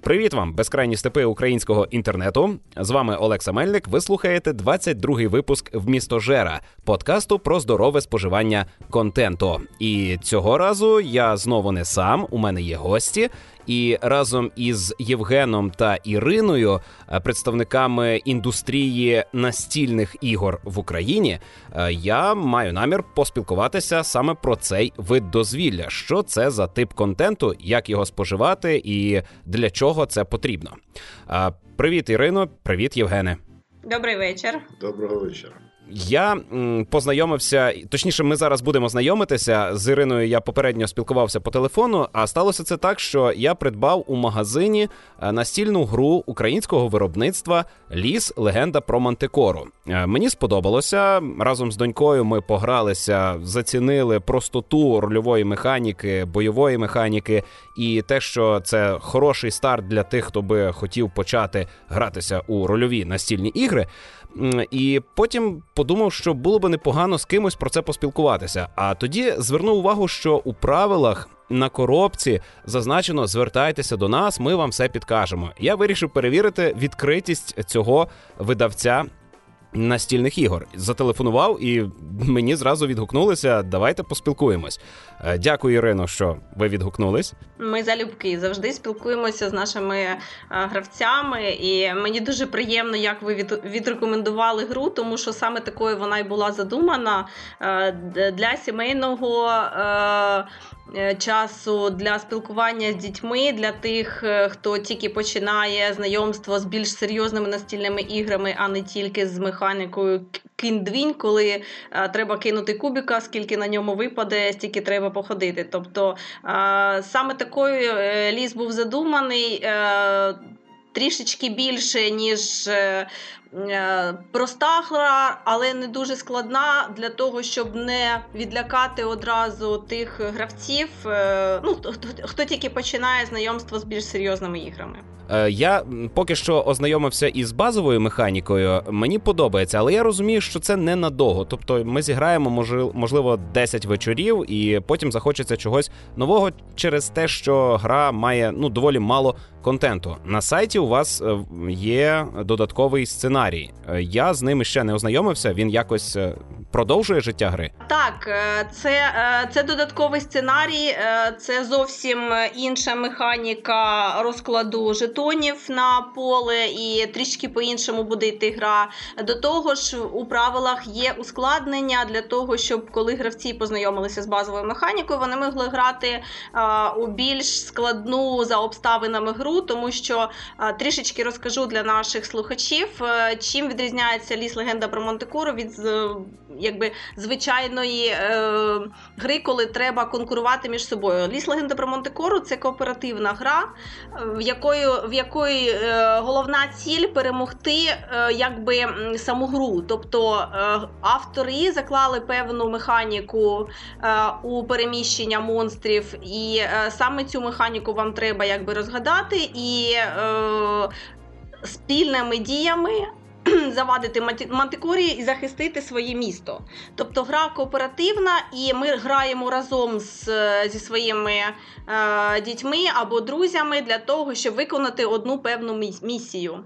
Привіт вам, безкрайні степи українського інтернету. З вами Олекса Мельник. Ви слухаєте 22-й випуск «Вмістожера» – подкасту про здорове споживання контенту. І цього разу я знову не сам, у мене є гості. І разом із Євгеном та Іриною, представниками індустрії настільних ігор в Україні, я маю намір поспілкуватися саме про цей вид дозвілля. Що це за тип контенту, як його споживати і для чого це потрібно. Привіт, Ірино, привіт, Євгене. Добрий вечір. Доброго вечора. Я познайомився, точніше, ми зараз будемо знайомитися. З Іриною я попередньо спілкувався по телефону, а сталося це так, що я придбав у магазині настільну гру українського виробництва «Ліс. Легенда про Мантикору». Мені сподобалося, разом з донькою ми погралися, зацінили простоту рольової механіки, бойової механіки і те, що це хороший старт для тих, хто би хотів почати гратися у рольові настільні ігри. І потім подумав, що було б непогано з кимось про це поспілкуватися. А тоді звернув увагу, що у правилах на коробці зазначено «Звертайтеся до нас, ми вам все підкажемо». Я вирішив перевірити відкритість цього видавця настільних ігор. Зателефонував і мені зразу відгукнулися «Давайте поспілкуємось». Дякую, Ірино, що ви відгукнулись. Ми залюбки завжди спілкуємося з нашими гравцями, і мені дуже приємно, як ви відрекомендували гру, тому що саме такою вона й була задумана для сімейного часу, для спілкування з дітьми, для тих, хто тільки починає знайомство з більш серйозними настільними іграми, а не тільки з механікою кинь-двінь, коли треба кинути кубика, скільки на ньому випаде, стільки треба походити. Тобто саме такою ліс був задуманий, трішечки більше, ніж проста гра, але не дуже складна, для того, щоб не відлякати одразу тих гравців, хто тільки починає знайомство з більш серйозними іграми. Я поки що ознайомився із базовою механікою, мені подобається, але я розумію, що це ненадовго. Тобто ми зіграємо, можливо, 10 вечорів і потім захочеться чогось нового через те, що гра має доволі мало контенту. На сайті у вас є додатковий сценарій. Я з ним ще не ознайомився, він якось продовжує життя гри? Так, це додатковий сценарій, це зовсім інша механіка розкладу жетонів на поле і трішки по-іншому буде йти гра. До того ж, у правилах є ускладнення для того, щоб коли гравці познайомилися з базовою механікою, вони могли грати у більш складну за обставинами гру, тому що трішечки розкажу для наших слухачів, чим відрізняється «Ліс. Легенда про Мантикору» від звичайної гри, коли треба конкурувати між собою. «Ліс. Легенда про Мантикору» – це кооперативна гра, в якої головна ціль – перемогти саму гру. Тобто автори заклали певну механіку у переміщення монстрів, і саме цю механіку вам треба розгадати і спільними діями завадити Мантикорі і захистити своє місто. Тобто гра кооперативна, і ми граємо разом зі своїми дітьми або друзями для того, щоб виконати одну певну місію.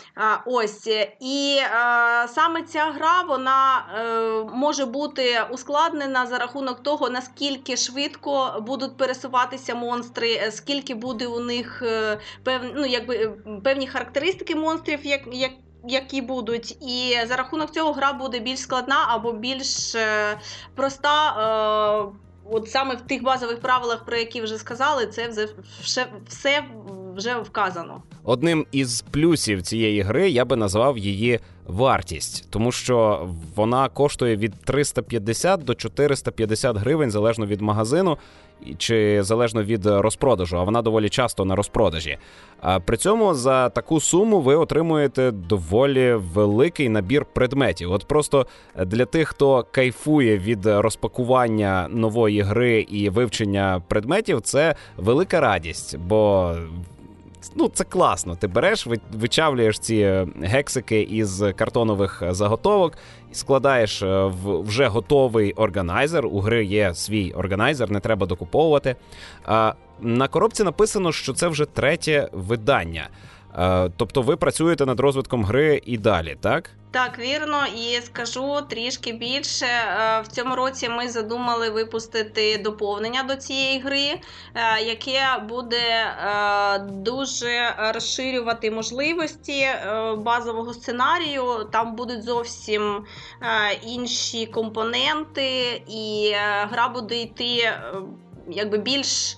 І саме ця гра, вона може бути ускладнена за рахунок того, наскільки швидко будуть пересуватися монстри, скільки буде у них певні характеристики монстрів, які будуть, і за рахунок цього гра буде більш складна або більш проста. От саме в тих базових правилах, про які вже сказали, це все вже вказано. Одним із плюсів цієї гри я би назвав її вартість, тому що вона коштує від 350 до 450 гривень, залежно від магазину чи залежно від розпродажу, а вона доволі часто на розпродажі. А при цьому за таку суму ви отримуєте доволі великий набір предметів. От просто для тих, хто кайфує від розпакування нової гри і вивчення предметів, це велика радість, бо ну, це класно. Ти береш, вичавлюєш ці гексики із картонових заготовок, складаєш в вже готовий органайзер. У гри є свій органайзер, не треба докуповувати. На коробці написано, що це вже 3-е видання. Тобто ви працюєте над розвитком гри і далі, так? Так, вірно, і скажу трішки більше. В цьому році ми задумали випустити доповнення до цієї гри, яке буде дуже розширювати можливості базового сценарію. Там будуть зовсім інші компоненти, і гра буде йти якби більш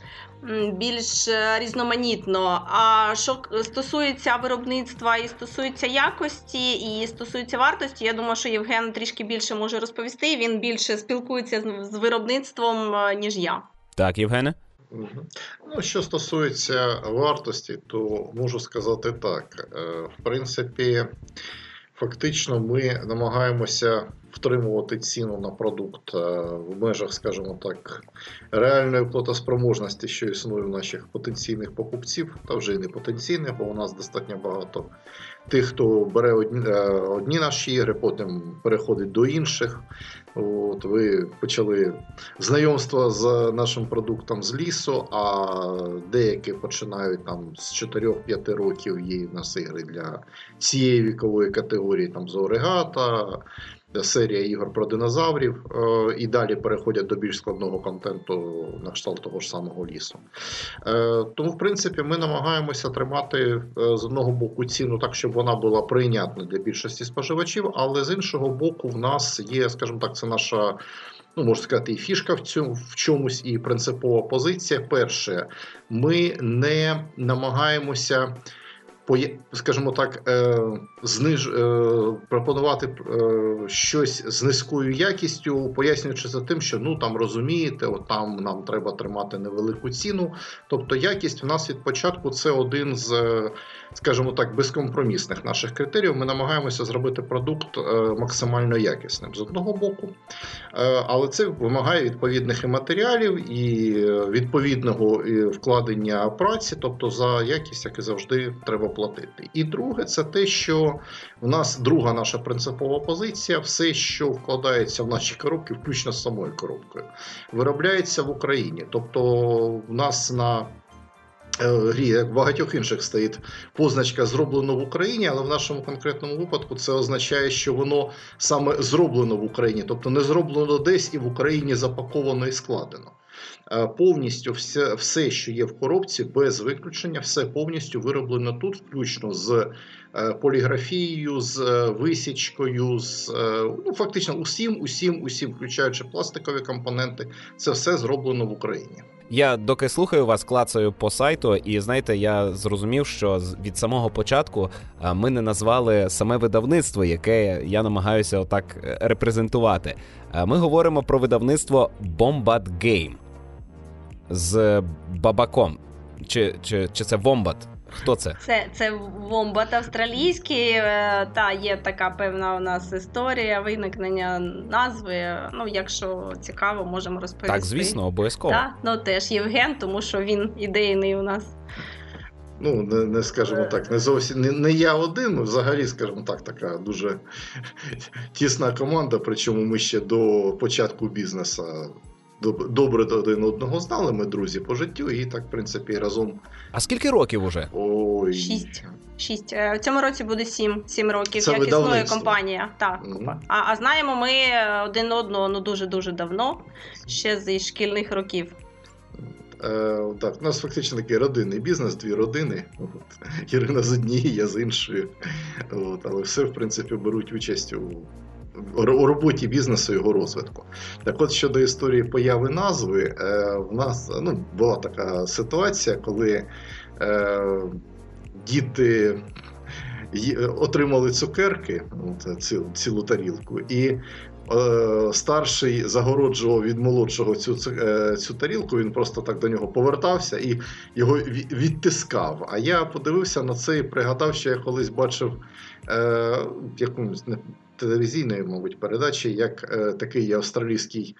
різноманітно. А що стосується виробництва і стосується якості, і стосується вартості, я думаю, що Євген трішки більше може розповісти, він більше спілкується з виробництвом, ніж я. Так, Євгене? Ну, що стосується вартості, то можу сказати так. В принципі, фактично ми намагаємося втримувати ціну на продукт в межах, скажімо так, реальної платоспроможності, що існує в наших потенційних покупців, та вже і не потенційних, бо у нас достатньо багато тих, хто бере одні наші ігри, потім переходить до інших. От ви почали знайомство з нашим продуктом з лісу, а деякі починають там з 4-5 років, є в нас ігри для цієї вікової категорії, там Зоригата, серія ігор про динозаврів, і далі переходять до більш складного контенту на кшталт того ж самого лісу. Тому, в принципі, ми намагаємося тримати з одного боку ціну так, щоб вона була прийнятна для більшості споживачів, але з іншого боку в нас є, скажімо так, це наша, ну, можна сказати, і фішка в чомусь, і принципова позиція. Перше, ми не намагаємося, скажімо так, пропонувати щось з низькою якістю, пояснюючи за тим, що, ну, там, розумієте, от там нам треба тримати невелику ціну. Тобто якість в нас від початку це один з, скажімо так, безкомпромісних наших критеріїв. Ми намагаємося зробити продукт максимально якісним з одного боку, але це вимагає відповідних і матеріалів, і відповідного вкладення праці, тобто за якість, як і завжди, треба платити. І друге, це те, що в нас друга наша принципова позиція, все, що вкладається в наші коробки, включно з самою коробкою, виробляється в Україні. Тобто в нас на грі, як в багатьох інших, стоїть позначка «Зроблено в Україні», але в нашому конкретному випадку це означає, що воно саме зроблено в Україні, тобто не зроблено десь і в Україні запаковано і складено. Повністю все, що є в коробці, без виключення, все повністю вироблено тут, включно з поліграфією, з висічкою, з, ну, фактично усім, включаючи пластикові компоненти, це все зроблено в Україні. Я доки слухаю вас, клацаю по сайту, і, знаєте, я зрозумів, що від самого початку ми не назвали саме видавництво, яке я намагаюся отак репрезентувати. Ми говоримо про видавництво Wombat Game з бабаком. Чи це Wombat? Хто це? Це Wombat австралійський, та є така певна у нас історія виникнення назви. Ну, якщо цікаво, можемо розповісти. Так, звісно, обов'язково. Так, ну теж Євген, тому що він ідейний у нас. Ну, не скажімо так, не зовсім не я один, взагалі, скажімо так, така дуже тісна команда, причому ми ще до початку бізнесу добре один одного знали, ми друзі по життю, і так, в принципі, разом. А скільки років уже? Ой. 6. В цьому році буде 7 років, це як існує компанія. Так. Mm-hmm. А знаємо ми один одного, ну, дуже-дуже давно, ще зі шкільних років. Так, у нас фактично такий родинний бізнес, 2 родини. Ірина з однієї, я з іншої. Але все, в принципі, беруть участь у роботі бізнесу і його розвитку. Так от, щодо історії появи назви, в нас, ну, була така ситуація, коли діти отримали цукерки, цілу тарілку, і старший загороджував від молодшого цю тарілку, він просто так до нього повертався і його відтискав. А я подивився на це і пригадав, що я колись бачив якомусь телевізійної, мабуть, передачі, як такий австралійський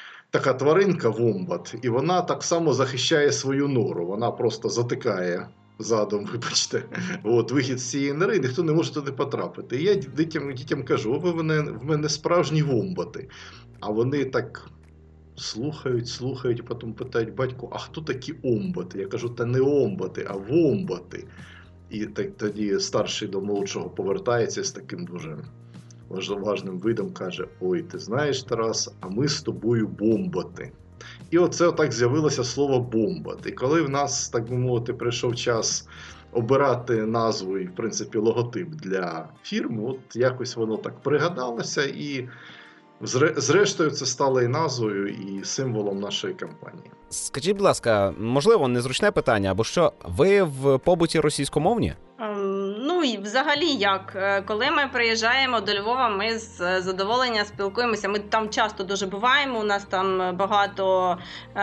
така тваринка Вомбат, і вона так само захищає свою нору. Вона просто затикає задом, вибачте, вихід з цієї нори, ніхто не може туди потрапити. І я дітям кажу, ви в мене справжні вомбати. А вони так слухають, і потім питають батьку, а хто такі омбати? Я кажу, та не омбати, а вомбати. І тоді старший до молодшого повертається з таким дуже важним видом, каже, ой, ти знаєш, Тарас, а ми з тобою бомбати. І оце отак з'явилося слово бомбати. І коли в нас, так би мовити, прийшов час обирати назву і, в принципі, логотип для фірми, от якось воно так пригадалося, і зрештою це стало і назвою, і символом нашої компанії. Скажіть, будь ласка, можливо, незручне питання, або що, ви в побуті російськомовні? Ну, і взагалі як? Коли ми приїжджаємо до Львова, ми з задоволенням спілкуємося. Ми там часто дуже буваємо, у нас там багато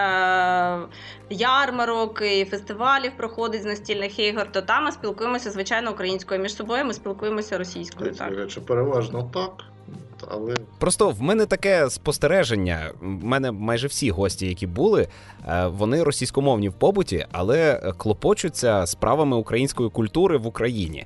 ярмарок і фестивалів проходить з настільних ігор, то там ми спілкуємося, звичайно, українською. Між собою ми спілкуємося російською. Так. Переважно так. Але... Просто в мене таке спостереження, в мене майже всі гості, які були, вони російськомовні в побуті, але клопочуться справами української культури в Україні.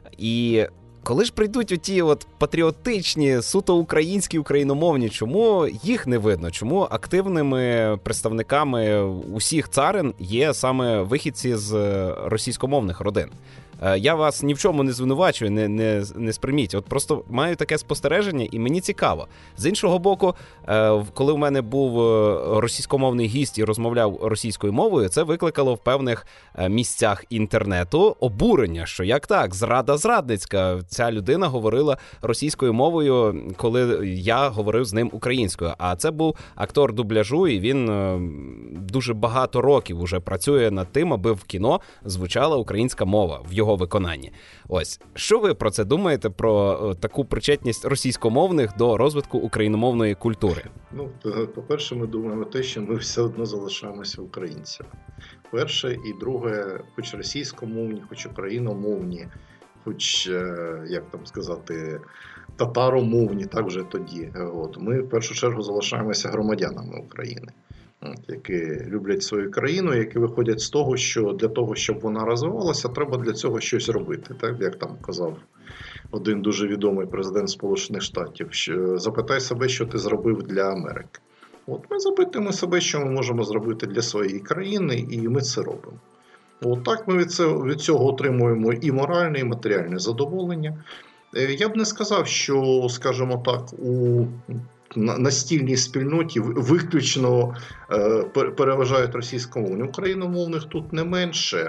І коли ж прийдуть оті от патріотичні, суто українські, україномовні, чому їх не видно? Чому активними представниками усіх царин є саме вихідці з російськомовних родин? Я вас ні в чому не звинувачую, не сприйміть. От просто маю таке спостереження, і мені цікаво. З іншого боку, коли в мене був російськомовний гість і розмовляв російською мовою, це викликало в певних місцях інтернету обурення, що як так, зрада зрадницька. Ця людина говорила російською мовою, коли я говорив з ним українською. А це був актор дубляжу, і він дуже багато років уже працює над тим, аби в кіно звучала українська мова в його виконанні. Ось, що ви про це думаєте, про таку причетність російськомовних до розвитку україномовної культури? Ну, по-перше, ми думаємо те, що ми все одно залишаємося українцями. Перше, і друге, хоч російськомовні, хоч україномовні, хоч, як там сказати, татаромовні, так вже тоді. От. Ми в першу чергу залишаємося громадянами України, які люблять свою країну, які виходять з того, що для того, щоб вона розвивалася, треба для цього щось робити. Так, як там казав один дуже відомий президент Сполучених Штатів, що запитай себе, що ти зробив для Америки. От ми запитуємо себе, що ми можемо зробити для своєї країни, і ми це робимо. От так ми від цього отримуємо і моральне, і матеріальне задоволення. Я б не сказав, що, скажімо так, у настільній спільноті виключно переважають російськомовні. Україномовних тут не менше.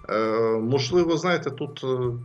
Можливо, знаєте, тут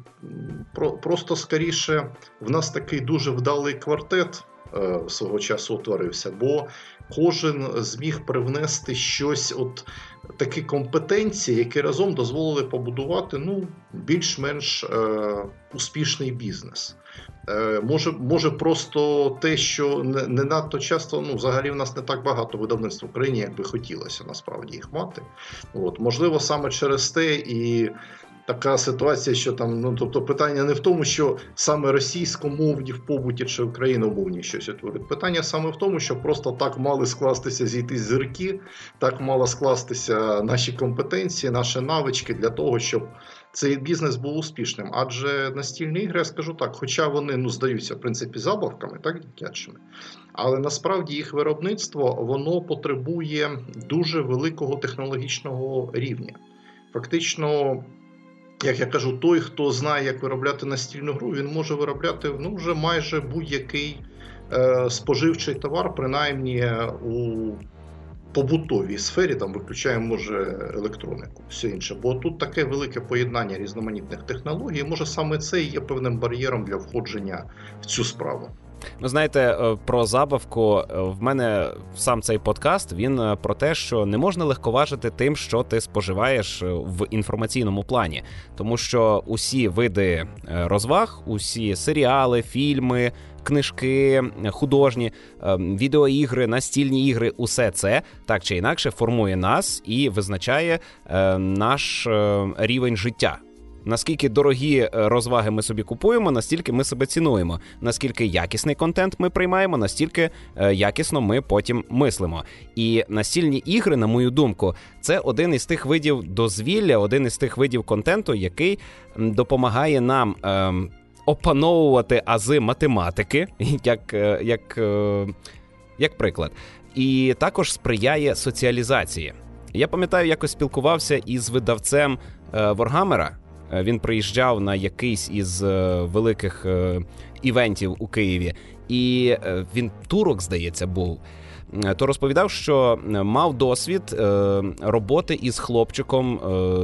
просто скоріше в нас такий дуже вдалий квартет свого часу утворився, бо кожен зміг привнести щось, от такі компетенції, які разом дозволили побудувати більш-менш успішний бізнес. Може просто те, що не надто часто, взагалі в нас не так багато видавництв в Україні, як би хотілося насправді їх мати. От, можливо, саме через те і така ситуація, що там, тобто питання не в тому, що саме російськомовні в побуті чи україномовні щось утворюють. Питання саме в тому, що просто так мали скластися зійтись зірки, так мало скластися наші компетенції, наші навички для того, щоб цей бізнес був успішним. Адже настільні ігри, я скажу так, хоча вони, здаються, в принципі, забавками, так, дитячими, але насправді їх виробництво, воно потребує дуже великого технологічного рівня. Фактично, як я кажу, той, хто знає, як виробляти настільну гру, він може виробляти вже майже будь-який споживчий товар, принаймні у побутовій сфері, там виключаємо, може, електронику, все інше. Бо тут таке велике поєднання різноманітних технологій, може саме це і є певним бар'єром для входження в цю справу. Знаєте, про забавку, в мене сам цей подкаст, він про те, що не можна легковажити тим, що ти споживаєш в інформаційному плані. Тому що усі види розваг, усі серіали, фільми, книжки, художні, відеоігри, настільні ігри, усе це так чи інакше формує нас і визначає наш рівень життя. Наскільки дорогі розваги ми собі купуємо, настільки ми себе цінуємо. Наскільки якісний контент ми приймаємо, настільки якісно ми потім мислимо. І настільні ігри, на мою думку, це один із тих видів дозвілля, один із тих видів контенту, який допомагає нам опановувати ази математики, як приклад. І також сприяє соціалізації. Я пам'ятаю, якось спілкувався із видавцем Warhammer. Він приїжджав на якийсь із великих івентів у Києві, і він турок, здається, був. То розповідав, що мав досвід роботи із хлопчиком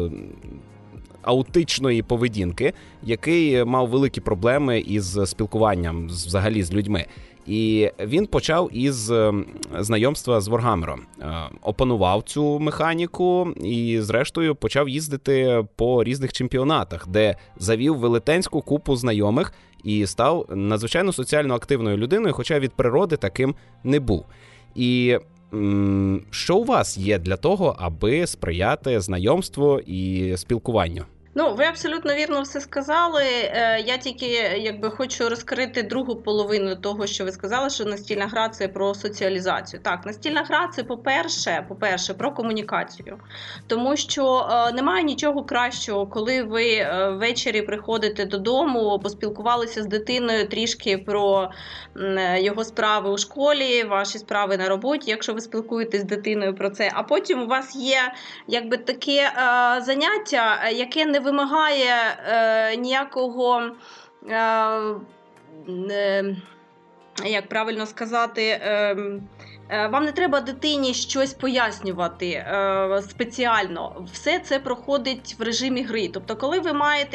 аутичної поведінки, який мав великі проблеми із спілкуванням взагалі з людьми. І він почав із знайомства з Warhammer'ом. Опанував цю механіку і, зрештою, почав їздити по різних чемпіонатах, де завів велетенську купу знайомих і став надзвичайно соціально активною людиною, хоча від природи таким не був. І що у вас є для того, аби сприяти знайомству і спілкуванню? Ну, ви абсолютно вірно все сказали. Я тільки хочу розкрити другу половину того, що ви сказали, що настільна гра – це про соціалізацію. Так, настільна гра – це, по-перше, про комунікацію. Тому що немає нічого кращого, коли ви ввечері приходите додому, поспілкувалися з дитиною трішки про його справи у школі, ваші справи на роботі, якщо ви спілкуєтесь з дитиною про це. А потім у вас є таке заняття, яке не вимагає ніякого, як правильно сказати, вам не треба дитині щось пояснювати спеціально. Все це проходить в режимі гри. Тобто, коли ви маєте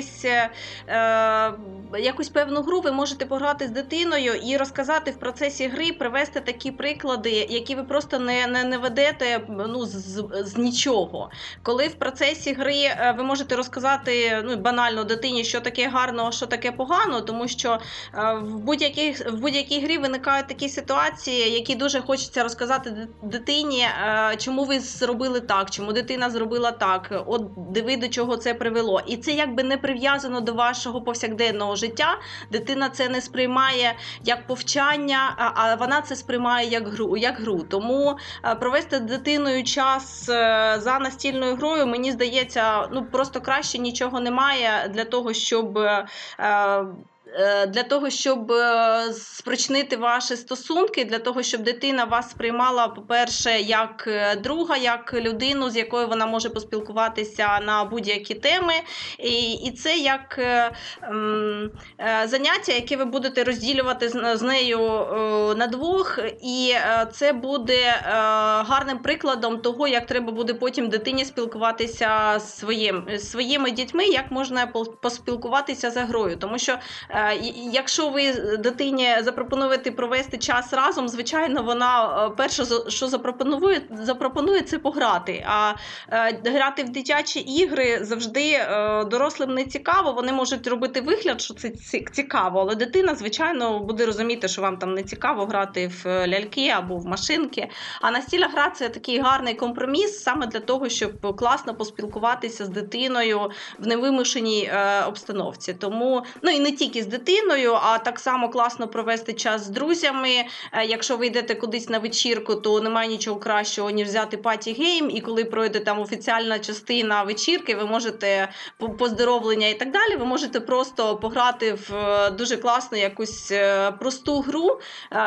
якусь певну гру, ви можете пограти з дитиною і розказати в процесі гри, привести такі приклади, які ви просто не ведете з нічого. Коли в процесі гри ви можете розказати банально дитині, що таке гарно, що таке погано, тому що в будь-якій грі виникають такі ситуації, які дуже хочеться розказати дитині, чому ви зробили так, чому дитина зробила так, от диви, до чого це привело. І це не прив'язано до вашого повсякденного життя, дитина це не сприймає як повчання, а вона це сприймає як гру. Тому провести з дитиною час за настільною грою, мені здається, просто краще нічого немає для того, щоб спричинити ваші стосунки, для того, щоб дитина вас сприймала, по-перше, як друга, як людину, з якою вона може поспілкуватися на будь-які теми. І це як заняття, яке ви будете розділювати з нею на двох. І це буде гарним прикладом того, як треба буде потім дитині спілкуватися з своїми дітьми, як можна поспілкуватися за грою. Тому що якщо ви дитині запропонуєте провести час разом, звичайно, вона перше, що запропонує це пограти. А грати в дитячі ігри завжди дорослим не цікаво. Вони можуть робити вигляд, що це цікаво, але дитина, звичайно, буде розуміти, що вам там не цікаво грати в ляльки або в машинки. А настільна гра – це такий гарний компроміс саме для того, щоб класно поспілкуватися з дитиною в невимушеній обстановці. Тому, і не тільки з дитиною, а так само класно провести час з друзями. Якщо ви йдете кудись на вечірку, то немає нічого кращого, ніж взяти паті-гейм, і коли пройде там офіціальна частина вечірки, ви можете поздоровлення і так далі, ви можете просто пограти в дуже класну якусь просту гру,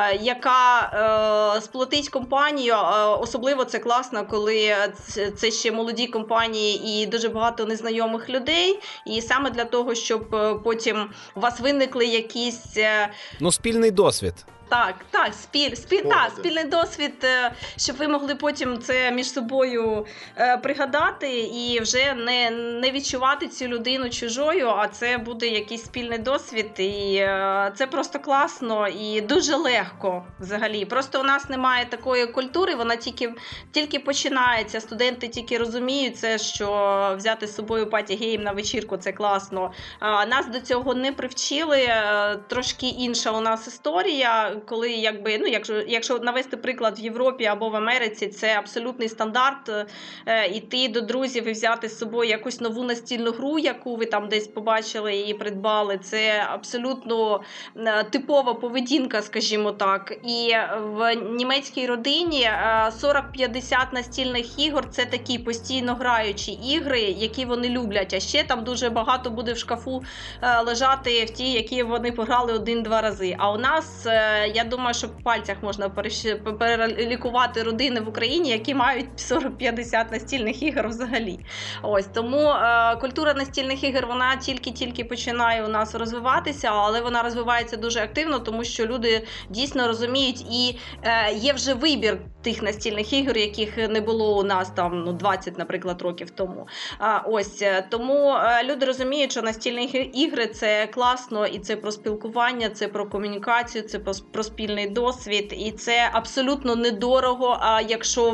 яка сплотить компанію. Особливо це класно, коли це ще молоді компанії і дуже багато незнайомих людей. І саме для того, щоб потім у вас виникли якісь... спільний досвід. Так, спільний досвід, щоб ви могли потім це між собою пригадати і вже не відчувати цю людину чужою, а це буде якийсь спільний досвід, і це просто класно і дуже легко взагалі. Просто у нас немає такої культури, вона тільки починається, студенти тільки розуміють це, що взяти з собою паті-гейм на вечірку – це класно. Нас до цього не привчили, трошки інша у нас історія. коли якщо навести приклад в Європі або в Америці, це абсолютний стандарт іти до друзів і взяти з собою якусь нову настільну гру, яку ви там десь побачили і придбали. Це абсолютно типова поведінка, скажімо так. І в німецькій родині 40-50 настільних ігор – це такі постійно граючі ігри, які вони люблять. А ще там дуже багато буде в шкафу лежати в ті, які вони пограли 1-2 рази. А у нас, я думаю, що по пальцях можна перелікувати родини в Україні, які мають 40-50 настільних ігор взагалі. Ось, тому культура настільних ігор, вона тільки починає у нас розвиватися, але вона розвивається дуже активно, тому що люди дійсно розуміють, і є вже вибір тих настільних ігор, яких не було у нас там 20, наприклад, років тому. Ось, тому люди розуміють, що настільні ігри – це класно, і це про спілкування, це про комунікацію, це про спільний досвід, і це абсолютно недорого, а якщо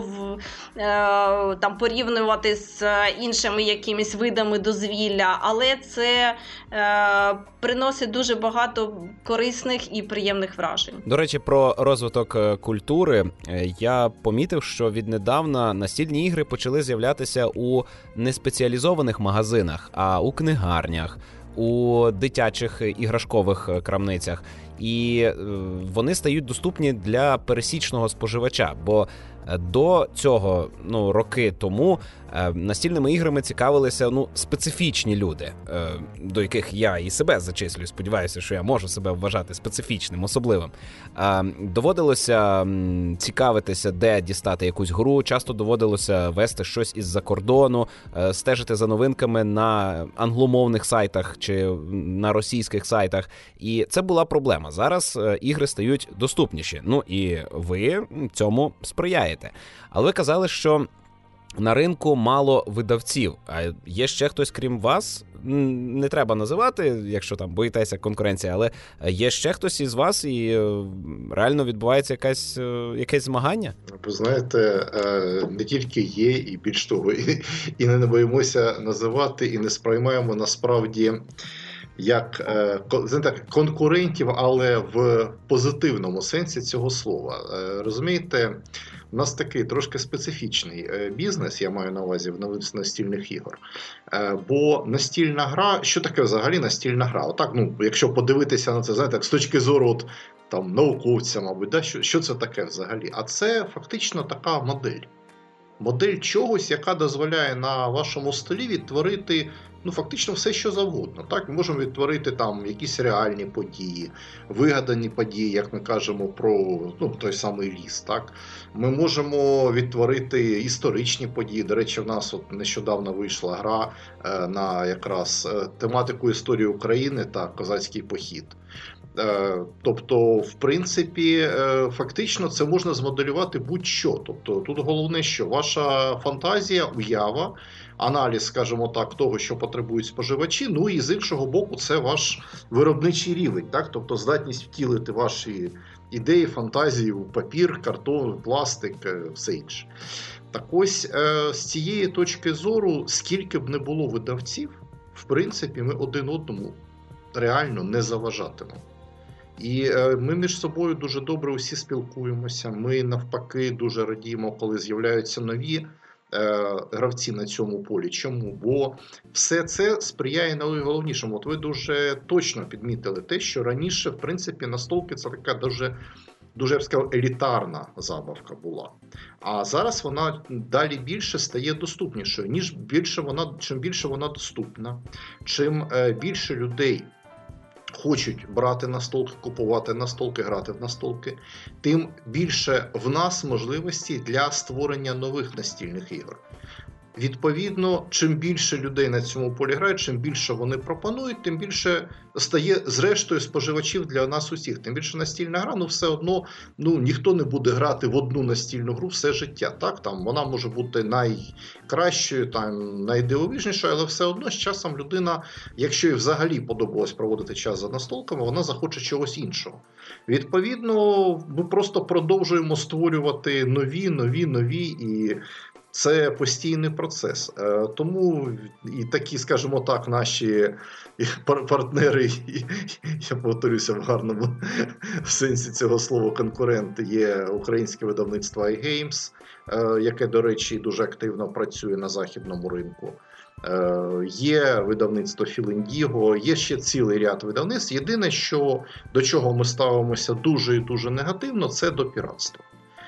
там порівнювати з іншими якимись видами дозвілля, але це приносить дуже багато корисних і приємних вражень. До речі, про розвиток культури я помітив, що віднедавна настільні ігри почали з'являтися у неспеціалізованих магазинах, а у книгарнях, у дитячих іграшкових крамницях. І вони стають доступні для пересічного споживача, бо до цього, роки тому, настільними іграми цікавилися, специфічні люди, до яких я і себе зачислюю, сподіваюся, що я можу себе вважати специфічним, особливим. Доводилося цікавитися, де дістати якусь гру, часто доводилося вести щось із-за кордону, стежити за новинками на англомовних сайтах чи на російських сайтах, і це була проблема. Зараз ігри стають доступніші, і ви цьому сприяєте. Але ви казали, що на ринку мало видавців. А є ще хтось, крім вас? Не треба називати, якщо там боїтеся конкуренції, але є ще хтось із вас, і реально відбувається якесь змагання? Ви знаєте, не тільки є, і більш того, і не боїмося називати, і не сприймаємо насправді як конкурентів, але в позитивному сенсі цього слова. Розумієте, у нас такий трошки специфічний бізнес, я маю на увазі в настільних ігор. Бо настільна гра, що таке взагалі настільна гра? Отак, якщо подивитися на це, з точки зору науковця, мабуть, що це таке взагалі? А це фактично така модель. Модель чогось, яка дозволяє на вашому столі відтворити фактично все, що завгодно. Так? Ми можемо відтворити там якісь реальні події, вигадані події, як ми кажемо про той самий ліс. Так? Ми можемо відтворити історичні події. До речі, в нас нещодавно вийшла гра на якраз тематику історії України та козацький похід. Тобто, в принципі, фактично це можна змоделювати будь-що. Тобто, тут головне, що ваша фантазія, уява, аналіз, скажімо так, того, що потребують споживачі, і з іншого боку, це ваш виробничий рівень, так? Тобто здатність втілити ваші ідеї, фантазії у папір, картон, пластик, все інше. Так ось, з цієї точки зору, скільки б не було видавців, в принципі, ми один одному реально не заважатимемо. І ми між собою дуже добре усі спілкуємося, ми навпаки дуже радіємо, коли з'являються нові гравці на цьому полі. Чому? Бо все це сприяє найголовнішому. Ви дуже точно підмітили те, що раніше, в принципі, настолки це така дуже, я б сказав, елітарна забавка була. А зараз вона далі більше стає доступнішою. Чим більше вона доступна, чим більше людей хочуть брати настолки, купувати настолки, грати в настолки, тим більше в нас можливості для створення нових настільних ігор. Відповідно, чим більше людей на цьому полі грають, чим більше вони пропонують, тим більше стає зрештою споживачів для нас усіх. Тим більше настільна гра, все одно ніхто не буде грати в одну настільну гру все життя. Так? Вона може бути найкращою, найдивовижнішою, але все одно з часом людина, якщо їй взагалі подобалось проводити час за настолками, вона захоче чогось іншого. Відповідно, ми просто продовжуємо створювати нові і Це постійний процес. Тому і такі, скажімо так, наші партнери, я повторюся в гарному сенсі цього слова, конкуренти, є українське видавництво iGames, яке, до речі, дуже активно працює на західному ринку. Є видавництво Філіндіго, є ще цілий ряд видавництв. Єдине, до чого ми ставимося дуже і дуже негативно, це до піратства.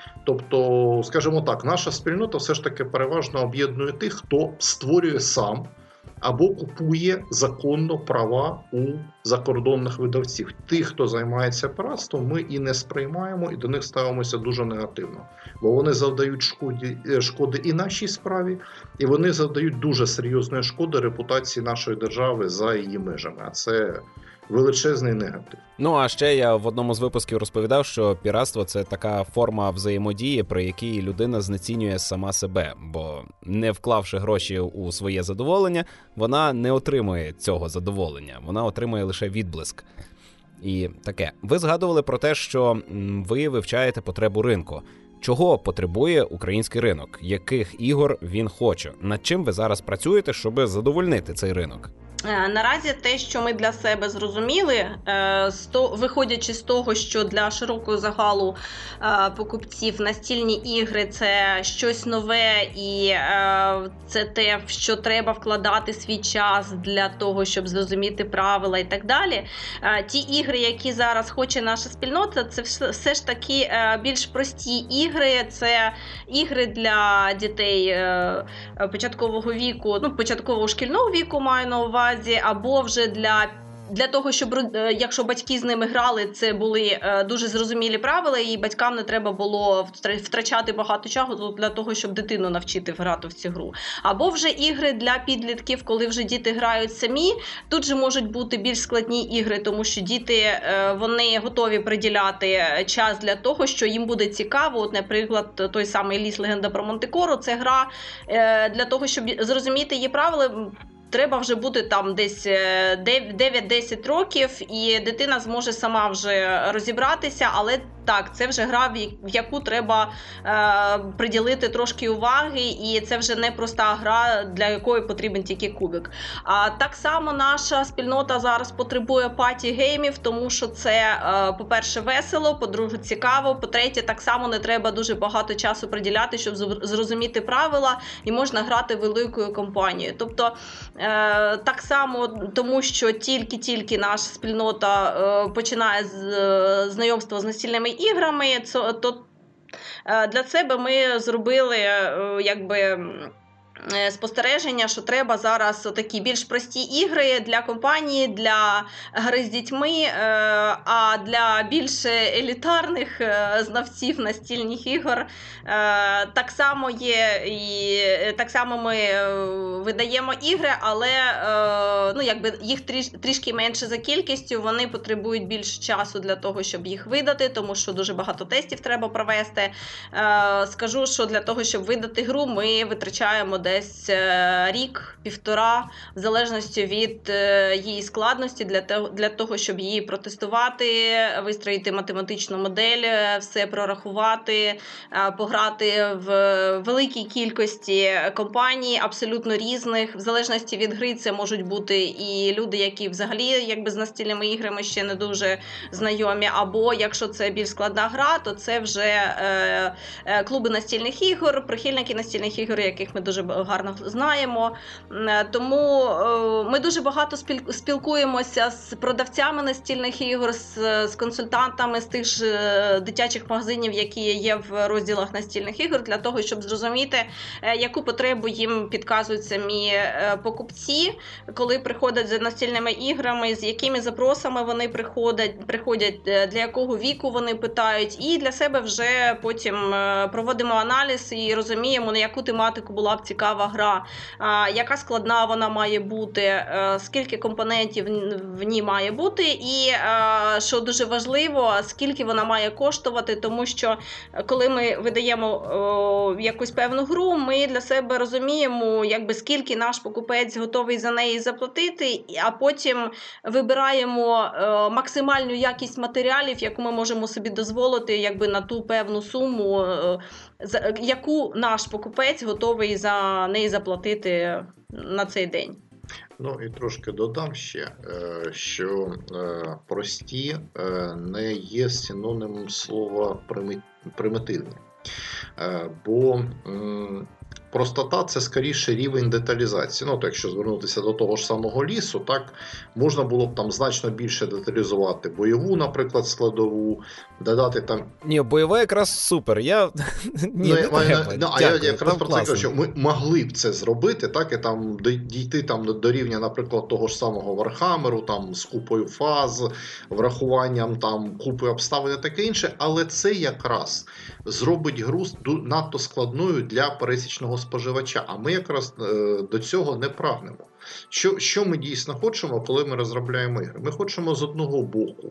Тобто, скажімо так, наша спільнота все ж таки переважно об'єднує тих, хто створює сам або купує законно права у закордонних видавців. Тих, хто займається піратством, ми і не сприймаємо, і до них ставимося дуже негативно. Бо вони завдають шкоди і нашій справі, і вони завдають дуже серйозної шкоди репутації нашої держави за її межами. А це величезний негатив. Ну, а ще я в одному з випусків розповідав, що піратство – це така форма взаємодії, при якій людина знецінює сама себе, бо не вклавши гроші у своє задоволення, вона не отримує цього задоволення, вона отримує лише відблиск. І таке. Ви згадували про те, що ви вивчаєте потребу ринку. Чого потребує український ринок? Яких ігор він хоче? Над чим ви зараз працюєте, щоб задовольнити цей ринок? Наразі те, що ми для себе зрозуміли, виходячи з того, що для широкого загалу покупців настільні ігри – це щось нове і це те, в що треба вкладати свій час для того, щоб зрозуміти правила і так далі. Ті ігри, які зараз хоче наша спільнота, це все ж таки більш прості ігри, це ігри для дітей початкового віку, початкового шкільного віку маю на увазі, або вже для того, щоб, якщо батьки з ними грали, це були дуже зрозумілі правила, і батькам не треба було втрачати багато часу для того, щоб дитину навчити грати в цю гру. Або вже ігри для підлітків, коли вже діти грають самі. Тут же можуть бути більш складні ігри, тому що діти, вони готові приділяти час для того, що їм буде цікаво. От, наприклад, той самий «Ліс. Легенда про Монте-Коро» – це гра для того, щоб зрозуміти її правила, треба вже бути там десь 9-10 років, і дитина зможе сама вже розібратися, але так, це вже гра, в яку треба приділити трошки уваги, і це вже не проста гра, для якої потрібен тільки кубик. А так само наша спільнота зараз потребує паті-геймів, тому що це, по-перше, весело, по-друге, цікаво, по-третє, так само не треба дуже багато часу приділяти, щоб зрозуміти правила, і можна грати великою компанією. Тобто, так само, тому що тільки наша спільнота починає знайомство з настільними іграми, то для себе ми зробили спостереження, що треба зараз такі більш прості ігри для компанії, для гри з дітьми, а для більш елітарних знавців настільних ігор так само є, і так само ми видаємо ігри, але їх трішки менше за кількістю, вони потребують більше часу для того, щоб їх видати, тому що дуже багато тестів треба провести. Скажу, що для того, щоб видати гру, ми витрачаємо десь рік-півтора, в залежності від її складності, для того, щоб її протестувати, вистроїти математичну модель, все прорахувати, пограти в великій кількості компаній, абсолютно різних. В залежності від гри це можуть бути і люди, які взагалі з настільними іграми ще не дуже знайомі, або якщо це більш складна гра, то це вже клуби настільних ігор, прихильники настільних ігор, яких ми дуже гарно знаємо. Тому ми дуже багато спілкуємося з продавцями настільних ігор, з консультантами з тих ж дитячих магазинів, які є в розділах настільних ігор, для того, щоб зрозуміти, яку потребу їм підказують самі покупці, коли приходять за настільними іграми, з якими запросами вони приходять, для якого віку вони питають, і для себе вже потім проводимо аналіз і розуміємо, на яку тематику була б цікава цікава гра, яка складна вона має бути, скільки компонентів в ній має бути і, що дуже важливо, скільки вона має коштувати, тому що коли ми видаємо якусь певну гру, ми для себе розуміємо, якби скільки наш покупець готовий за неї заплатити, а потім вибираємо максимальну якість матеріалів, яку ми можемо собі дозволити, якби на ту певну суму, яку наш покупець готовий за неї заплатити на цей день. Ну і трошки додам ще, що прості не є синонімом слова примітивні. Бо простота – це скоріше рівень деталізації. Ну, то якщо звернутися до того ж самого лісу, так, можна було б там значно більше деталізувати бойову, наприклад, складову, додати там... Ні, бойова якраз супер. Я якраз про це кажу, що ми могли б це зробити, так, і там дійти там до рівня, наприклад, того ж самого Вархаммеру, там з купою фаз, врахуванням там купи обставин і таке інше, але це якраз зробить гру надто складною для пересічного споживача, а ми якраз до цього не прагнемо. Що ми дійсно хочемо, коли ми розробляємо ігри? Ми хочемо з одного боку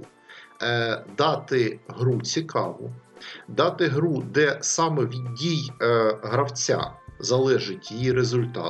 дати гру цікаву, дати гру, де саме від дій гравця залежить її результат.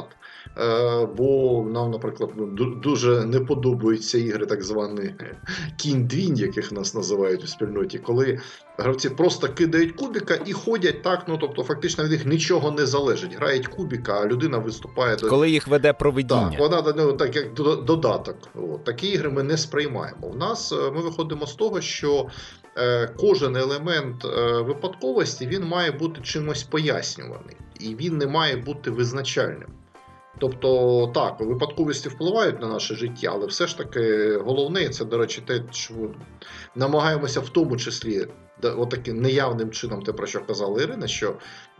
Бо нам, наприклад, дуже не подобаються ігри так звані кінь-двінь, яких нас називають у спільноті, коли гравці просто кидають кубіка і ходять так, ну тобто фактично від них нічого не залежить. Грають кубіка, а людина виступає... Коли їх веде провидіння. Так, вона так, як додаток. От. Такі ігри ми не сприймаємо. Ми виходимо з того, що кожен елемент випадковості, він має бути чимось пояснюваний. І він не має бути визначальним. Тобто, так, випадковості впливають на наше життя, але все ж таки головне, це, до речі, те, що намагаємося в тому числі, отаким неявним чином, те, про що казала Ірина, що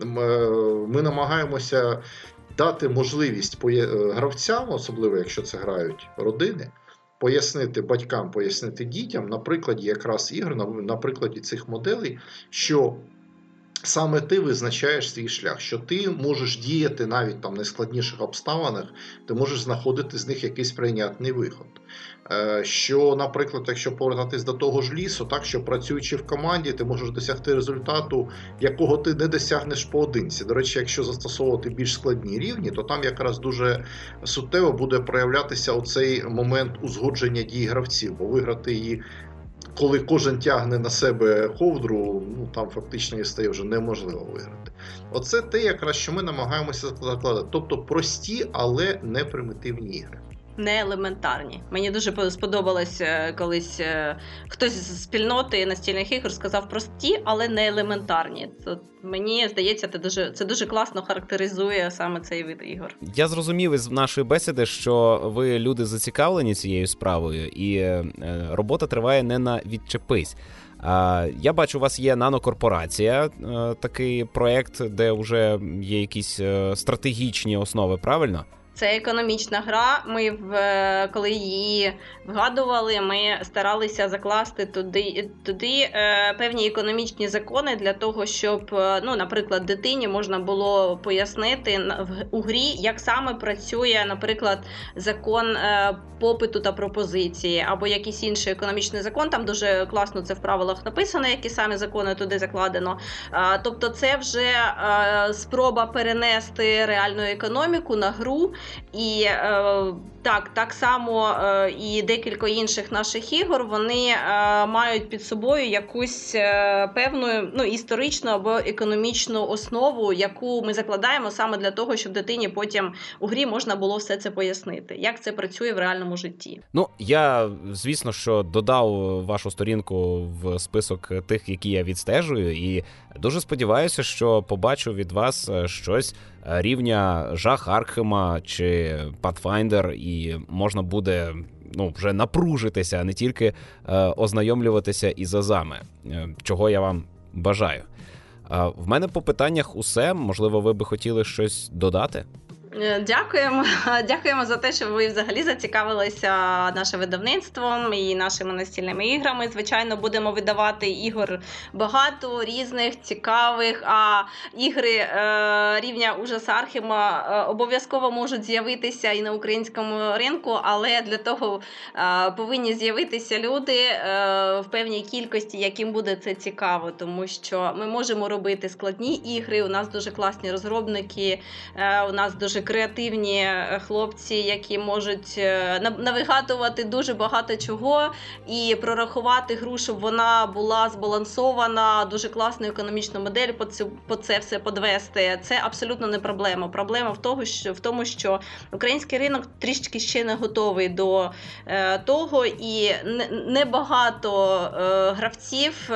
ми намагаємося дати можливість гравцям, особливо якщо це грають родини, пояснити батькам, пояснити дітям, на прикладі якраз ігр, на прикладі цих моделей, що саме ти визначаєш свій шлях, що ти можеш діяти навіть там в найскладніших обставинах, ти можеш знаходити з них якийсь прийнятний виход. Що, наприклад, якщо повертатись до того ж лісу, так, що працюючи в команді, ти можеш досягти результату, якого ти не досягнеш поодинці. До речі, якщо застосовувати більш складні рівні, то там якраз дуже суттєво буде проявлятися оцей момент узгодження дій гравців, бо виграти її, коли кожен тягне на себе ковдру, ну, там фактично і стає вже неможливо виграти. Оце те, якраз, що ми намагаємося закладати. Тобто прості, але не примітивні ігри. Не елементарні. Мені дуже сподобалось колись хтось з спільноти настільних ігор сказав прості, але не елементарні. Мені здається, це дуже класно характеризує саме цей вид ігор. Я зрозумів із нашої бесіди, що ви люди зацікавлені цією справою, і робота триває не на відчепись. Я бачу, у вас є нанокорпорація, такий проєкт, де вже є якісь стратегічні основи, правильно? Це економічна гра. Ми, коли її вгадували, ми старалися закласти туди певні економічні закони для того, щоб, ну, наприклад, дитині можна було пояснити у грі, як саме працює, наприклад, закон попиту та пропозиції, або якийсь інший економічний закон. Там дуже класно це в правилах написано, які самі закони туди закладено. Тобто це вже спроба перенести реальну економіку на гру. І так само і декілька інших наших ігор, вони мають під собою якусь певну, ну, історичну або економічну основу, яку ми закладаємо саме для того, щоб дитині потім у грі можна було все це пояснити, як це працює в реальному житті. Ну, я, звісно, що додав вашу сторінку в список тих, які я відстежую, і дуже сподіваюся, що побачу від вас щось рівня Жах Аркхема чи Pathfinder, і можна буде, ну, вже напружитися, а не тільки ознайомлюватися із азами, чого я вам бажаю. В мене по питаннях усе. Можливо, ви би хотіли щось додати? Дякуємо за те, що ви взагалі зацікавилися нашим видавництвом і нашими настільними іграми. Звичайно, будемо видавати ігор багато, різних, цікавих, а ігри рівня ужас Архема обов'язково можуть з'явитися і на українському ринку, але для того повинні з'явитися люди в певній кількості, яким буде це цікаво, тому що ми можемо робити складні ігри, у нас дуже класні розробники, у нас дуже креативні хлопці, які можуть навигатувати дуже багато чого і прорахувати гру, щоб вона була збалансована, дуже класну економічну модель по це все подвести. Це абсолютно не проблема. Проблема в тому, що український ринок трішки ще не готовий до того, і небагато гравців,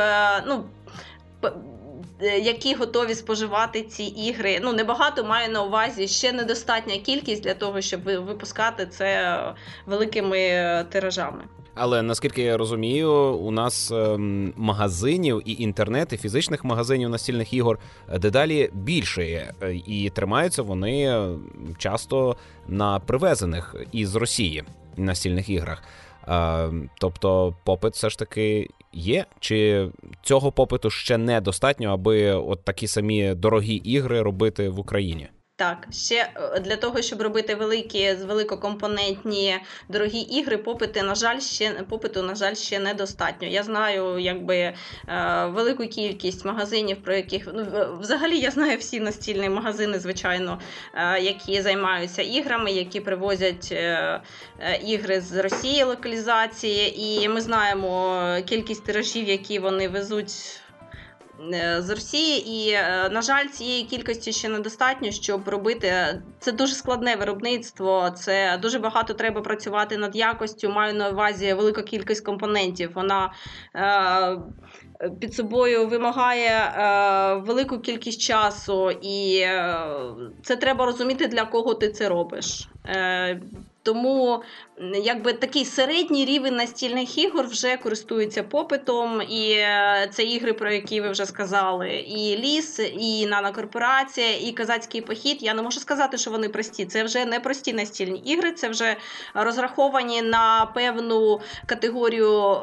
які готові споживати ці ігри. Небагато, маю на увазі, ще недостатня кількість для того, щоб випускати це великими тиражами. Але, наскільки я розумію, у нас магазинів і інтернет, і фізичних магазинів настільних ігор дедалі більше. І тримаються вони часто на привезених із Росії настільних іграх. Тобто попит все ж таки є? Чи цього попиту ще недостатньо, аби от такі самі дорогі ігри робити в Україні? Так, ще для того, щоб робити великокомпонентні дорогі ігри, попиту, на жаль, ще недостатньо. Я знаю, велику кількість магазинів, про яких, взагалі я знаю всі настільні магазини, звичайно, які займаються іграми, які привозять ігри з Росії, локалізації, і ми знаємо кількість тиражів, які вони везуть з Росії, і, на жаль, цієї кількості ще недостатньо, щоб робити. Це дуже складне виробництво, це дуже багато треба працювати над якостю, маю на увазі велика кількість компонентів. Вона під собою вимагає велику кількість часу, і це треба розуміти, для кого ти це робиш. Тому такий середній рівень настільних ігор вже користується попитом, і це ігри, про які ви вже сказали, і Ліс, і Нанокорпорація, і Козацький похід. Я не можу сказати, що вони прості. Це вже не прості настільні ігри, це вже розраховані на певну категорію,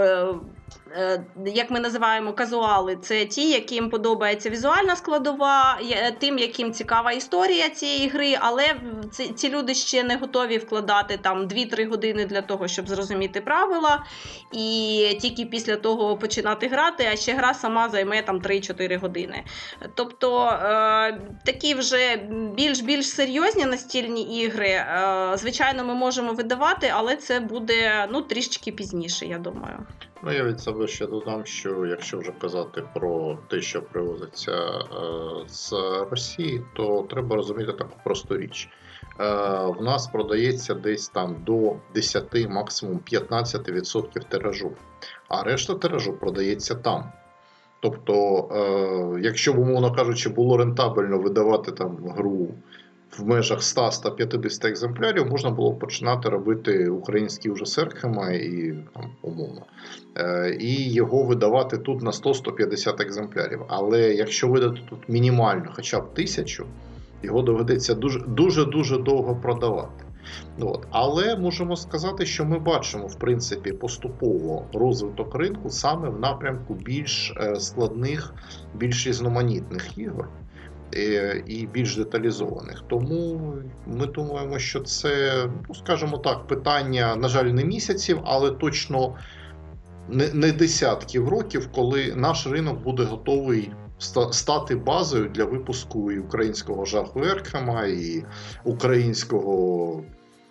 як ми називаємо, казуали. Це ті, яким подобається візуальна складова, тим, яким цікава історія цієї гри, але ці люди ще не готові вкладати там 2-3 години для того, щоб зрозуміти правила, і тільки після того починати грати, а ще гра сама займе там 3-4 години. Тобто такі вже більш серйозні настільні ігри, звичайно, ми можемо видавати, але це буде трішечки пізніше, я думаю. Я від себе ще додам, що якщо вже казати про те, що привозиться з Росії, то треба розуміти таку просту річ. В нас продається десь там до 10, максимум 15% тиражу, а решта тиражу продається там. Тобто, якщо б, умовно кажучи, було рентабельно видавати там гру в межах 100-150 екземплярів, можна було починати робити український ужас Архема і умовно. І його видавати тут на 100-150 екземплярів. Але якщо видати тут мінімально хоча б 1000, його доведеться дуже довго продавати. Але можемо сказати, що ми бачимо, в принципі, поступово розвиток ринку саме в напрямку більш складних, більш різноманітних ігор і більш деталізованих. Тому ми думаємо, що це, скажімо так, питання, на жаль, не місяців, але точно не десятків років, коли наш ринок буде готовий стати базою для випуску і українського жаху Архема, і українського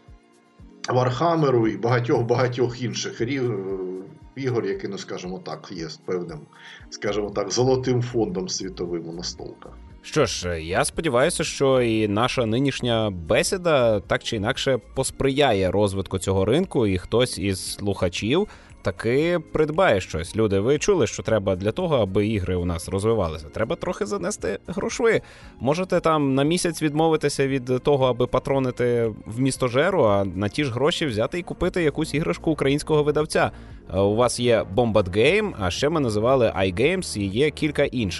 Вархаммеру, і багатьох інших ігор, які, скажімо так, є з певним, скажімо так, золотим фондом світовим у настолках. Що ж, я сподіваюся, що і наша нинішня бесіда так чи інакше посприяє розвитку цього ринку, і хтось із слухачів таки придбає щось. Люди, ви чули, що треба для того, аби ігри у нас розвивалися? Треба трохи занести грошви. Можете там на місяць відмовитися від того, аби патронити в місто Жеру, а на ті ж гроші взяти і купити якусь іграшку українського видавця. У вас є Bombad Game, а ще ми називали iGames, і є кілька інших.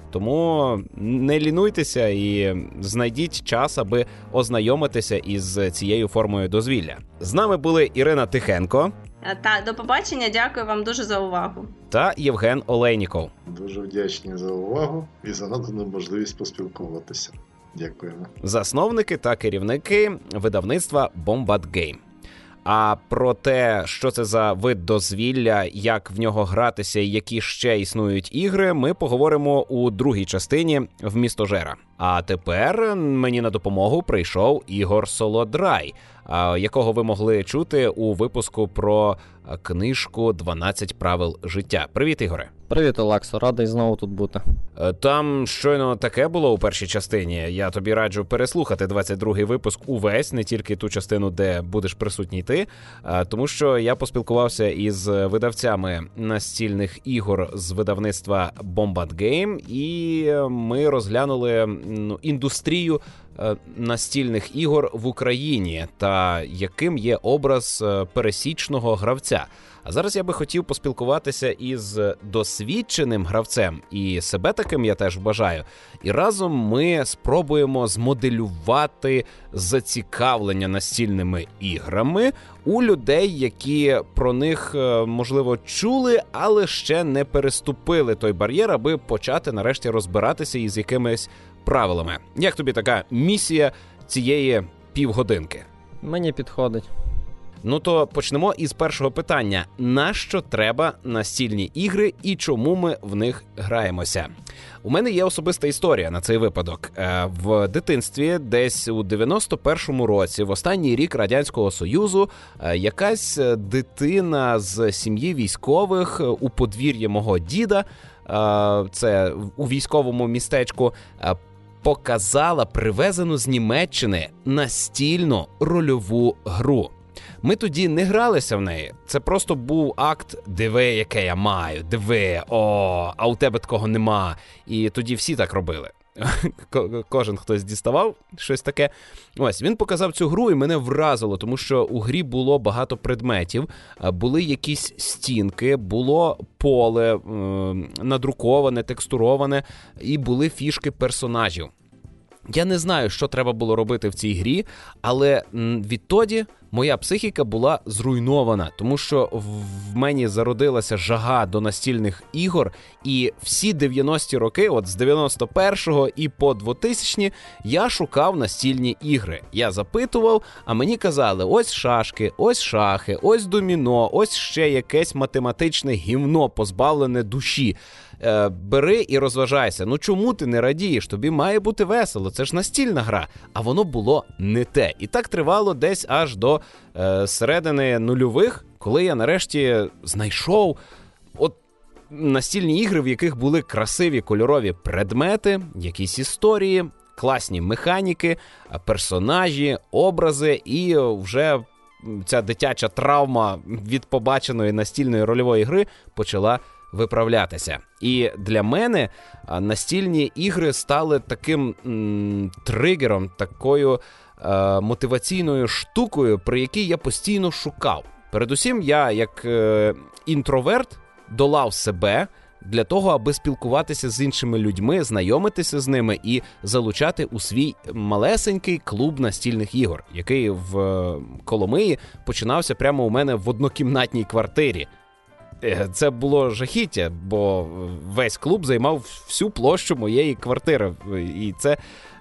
Тому не лінуйтеся і знайдіть час, аби ознайомитися із цією формою дозвілля. З нами були Ірина Тихенко. Так, до побачення, дякую вам дуже за увагу. Та Євген Олейніков. Дуже вдячні за увагу і за надану можливість поспілкуватися. Дякуємо. Засновники та керівники видавництва Bombat Game. А про те, що це за вид дозвілля, як в нього гратися і які ще існують ігри, ми поговоримо у другій частині «Вмістожера». А тепер мені на допомогу прийшов Ігор Солодрай, якого ви могли чути у випуску про книжку «12 правил життя». Привіт, Ігоре. Привіт, Олексо, радий знову тут бути. Там щойно таке було у першій частині. Я тобі раджу переслухати 22-й випуск увесь, не тільки ту частину, де будеш присутній ти, тому що я поспілкувався із видавцями настільних ігор з видавництва Bombat Game, і ми розглянули індустрію настільних ігор в Україні та яким є образ пересічного гравця. А зараз я би хотів поспілкуватися із досвідченим гравцем, і себе таким я теж вважаю. І разом ми спробуємо змоделювати зацікавлення настільними іграми у людей, які про них, можливо, чули, але ще не переступили той бар'єр, аби почати нарешті розбиратися із якимись правилами. Як тобі така місія цієї півгодинки? Мені підходить. Ну то почнемо із першого питання. Нащо треба настільні ігри і чому ми в них граємося? У мене є особиста історія на цей випадок. В дитинстві, десь у 91-му році, в останній рік Радянського Союзу, якась дитина з сім'ї військових у подвір'ї мого діда, це у військовому містечку, показала привезену з Німеччини настільну рольову гру. Ми тоді не гралися в неї. Це просто був акт «диви, яке я маю, диви, а у тебе такого нема». І тоді всі так робили. Кожен хтось діставав щось таке. Ось, він показав цю гру і мене вразило, тому що у грі було багато предметів, були якісь стінки, було поле надруковане, текстуроване, і були фішки персонажів. Я не знаю, що треба було робити в цій грі, але відтоді моя психіка була зруйнована, тому що в мені зародилася жага до настільних ігор, і всі 90-ті роки, от з 91-го і по 2000-ні, я шукав настільні ігри. Я запитував, а мені казали, ось шашки, ось шахи, ось доміно, ось ще якесь математичне гівно, позбавлене душі. Бери і розважайся. Ну чому ти не радієш? Тобі має бути весело, це ж настільна гра. А воно було не те. І так тривало десь аж до середини нульових, коли я нарешті знайшов настільні ігри, в яких були красиві кольорові предмети, якісь історії, класні механіки, персонажі, образи, і вже ця дитяча травма від побаченої настільної рольової гри почала виправлятися. І для мене настільні ігри стали таким тригером, такою мотиваційною штукою, при якій я постійно шукав. Передусім, я, як інтроверт, долав себе для того, аби спілкуватися з іншими людьми, знайомитися з ними і залучати у свій малесенький клуб настільних ігор, який в Коломиї починався прямо у мене в однокімнатній квартирі. Це було жахіття, бо весь клуб займав всю площу моєї квартири. І це,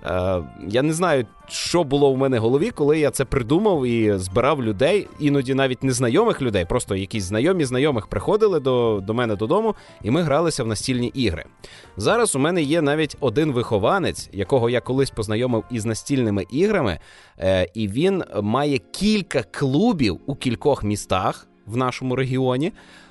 я не знаю, що було в мене в голові, коли я це придумав і збирав людей, іноді навіть незнайомих людей, просто якісь знайомі знайомих приходили до мене додому, і ми гралися в настільні ігри. Зараз у мене є навіть один вихованець, якого я колись познайомив із настільними іграми, і він має кілька клубів у кількох містах в нашому регіоні,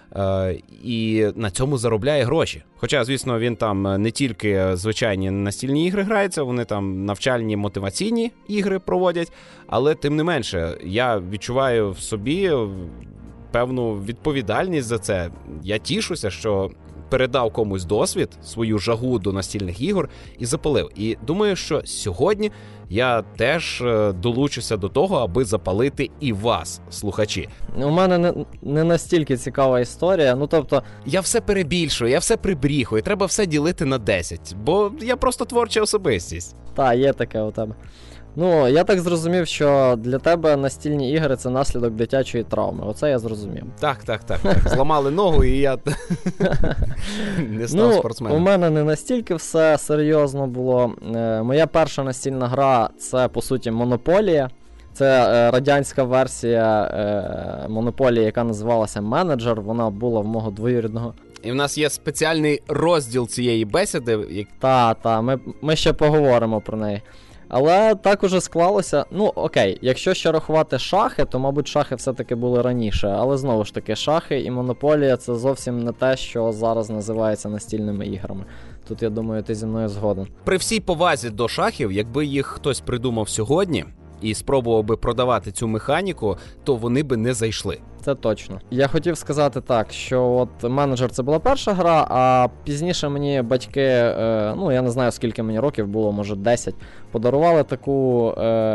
і на цьому заробляє гроші. Хоча, звісно, він там не тільки звичайні настільні ігри грається, вони там навчальні мотиваційні ігри проводять, але тим не менше, я відчуваю в собі певну відповідальність за це. Я тішуся, що передав комусь досвід, свою жагу до настільних ігор і запалив. І думаю, що сьогодні я теж долучуся до того, аби запалити і вас, слухачі. У мене не настільки цікава історія, ну тобто... Я все перебільшую, я все прибріхую, треба все ділити на 10, бо я просто творча особистість. Та, є таке у тебе. Ну, я так зрозумів, що для тебе настільні ігри – це наслідок дитячої травми. Оце я зрозумів. Так. Зламали ногу, і я не став спортсменом. У мене не настільки все серйозно було. Моя перша настільна гра – це, по суті, Монополія. Це радянська версія Монополії, яка називалася Менеджер. Вона була в мого двоюрідного. І в нас є спеціальний розділ цієї бесіди. Ми ще поговоримо про неї. Але так уже склалося, ну окей, якщо ще рахувати шахи, то, мабуть, шахи все-таки були раніше. Але знову ж таки, шахи і Монополія – це зовсім не те, що зараз називається настільними іграми. Тут, я думаю, ти зі мною згоден. При всій повазі до шахів, якби їх хтось придумав сьогодні і спробував би продавати цю механіку, то вони би не зайшли. Це точно. Я хотів сказати так, що от Менеджер – це була перша гра, а пізніше мені батьки, я не знаю, скільки мені років було, може 10, подарували таку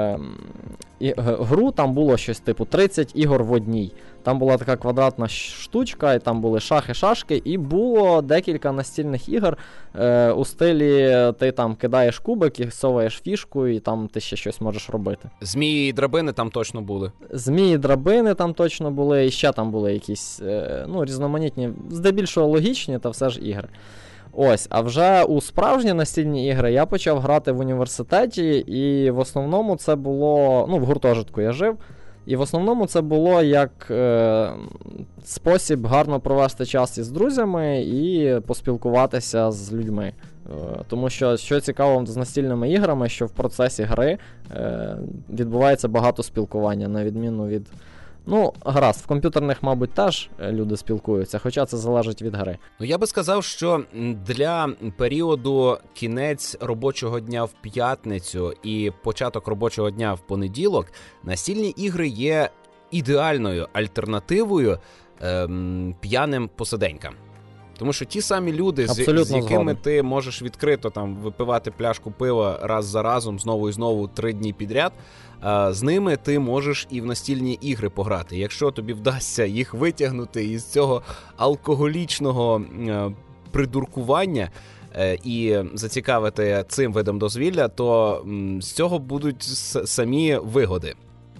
гру, там було щось типу 30 ігор в одній. Там була така квадратна штучка, і там були шахи-шашки, і було декілька настільних ігор у стилі ти там кидаєш кубик і соваєш фішку, і там ти ще щось можеш робити. Змії і драбини там точно були. Змії і драбини там точно були, і ще там були якісь різноманітні, здебільшого логічні, та все ж ігри. Ось, а вже у справжні настільні ігри я почав грати в університеті, і в основному це було, в гуртожитку я жив, і в основному це було як спосіб гарно провести час із друзями і поспілкуватися з людьми. Тому що цікаво з настільними іграми, що в процесі гри відбувається багато спілкування, на відміну від... гаразд, в комп'ютерних, мабуть, теж люди спілкуються, хоча це залежить від гри. Я би сказав, що для періоду кінець робочого дня в п'ятницю і початок робочого дня в понеділок настільні ігри є ідеальною альтернативою п'яним посиденькам. Тому що ті самі люди, з якими ти можеш відкрито там випивати пляшку пива раз за разом, знову і знову 3 дні підряд, з ними ти можеш і в настільні ігри пограти. Якщо тобі вдасться їх витягнути із цього алкоголічного придуркування і зацікавити цим видом дозвілля, то з цього будуть самі вигоди.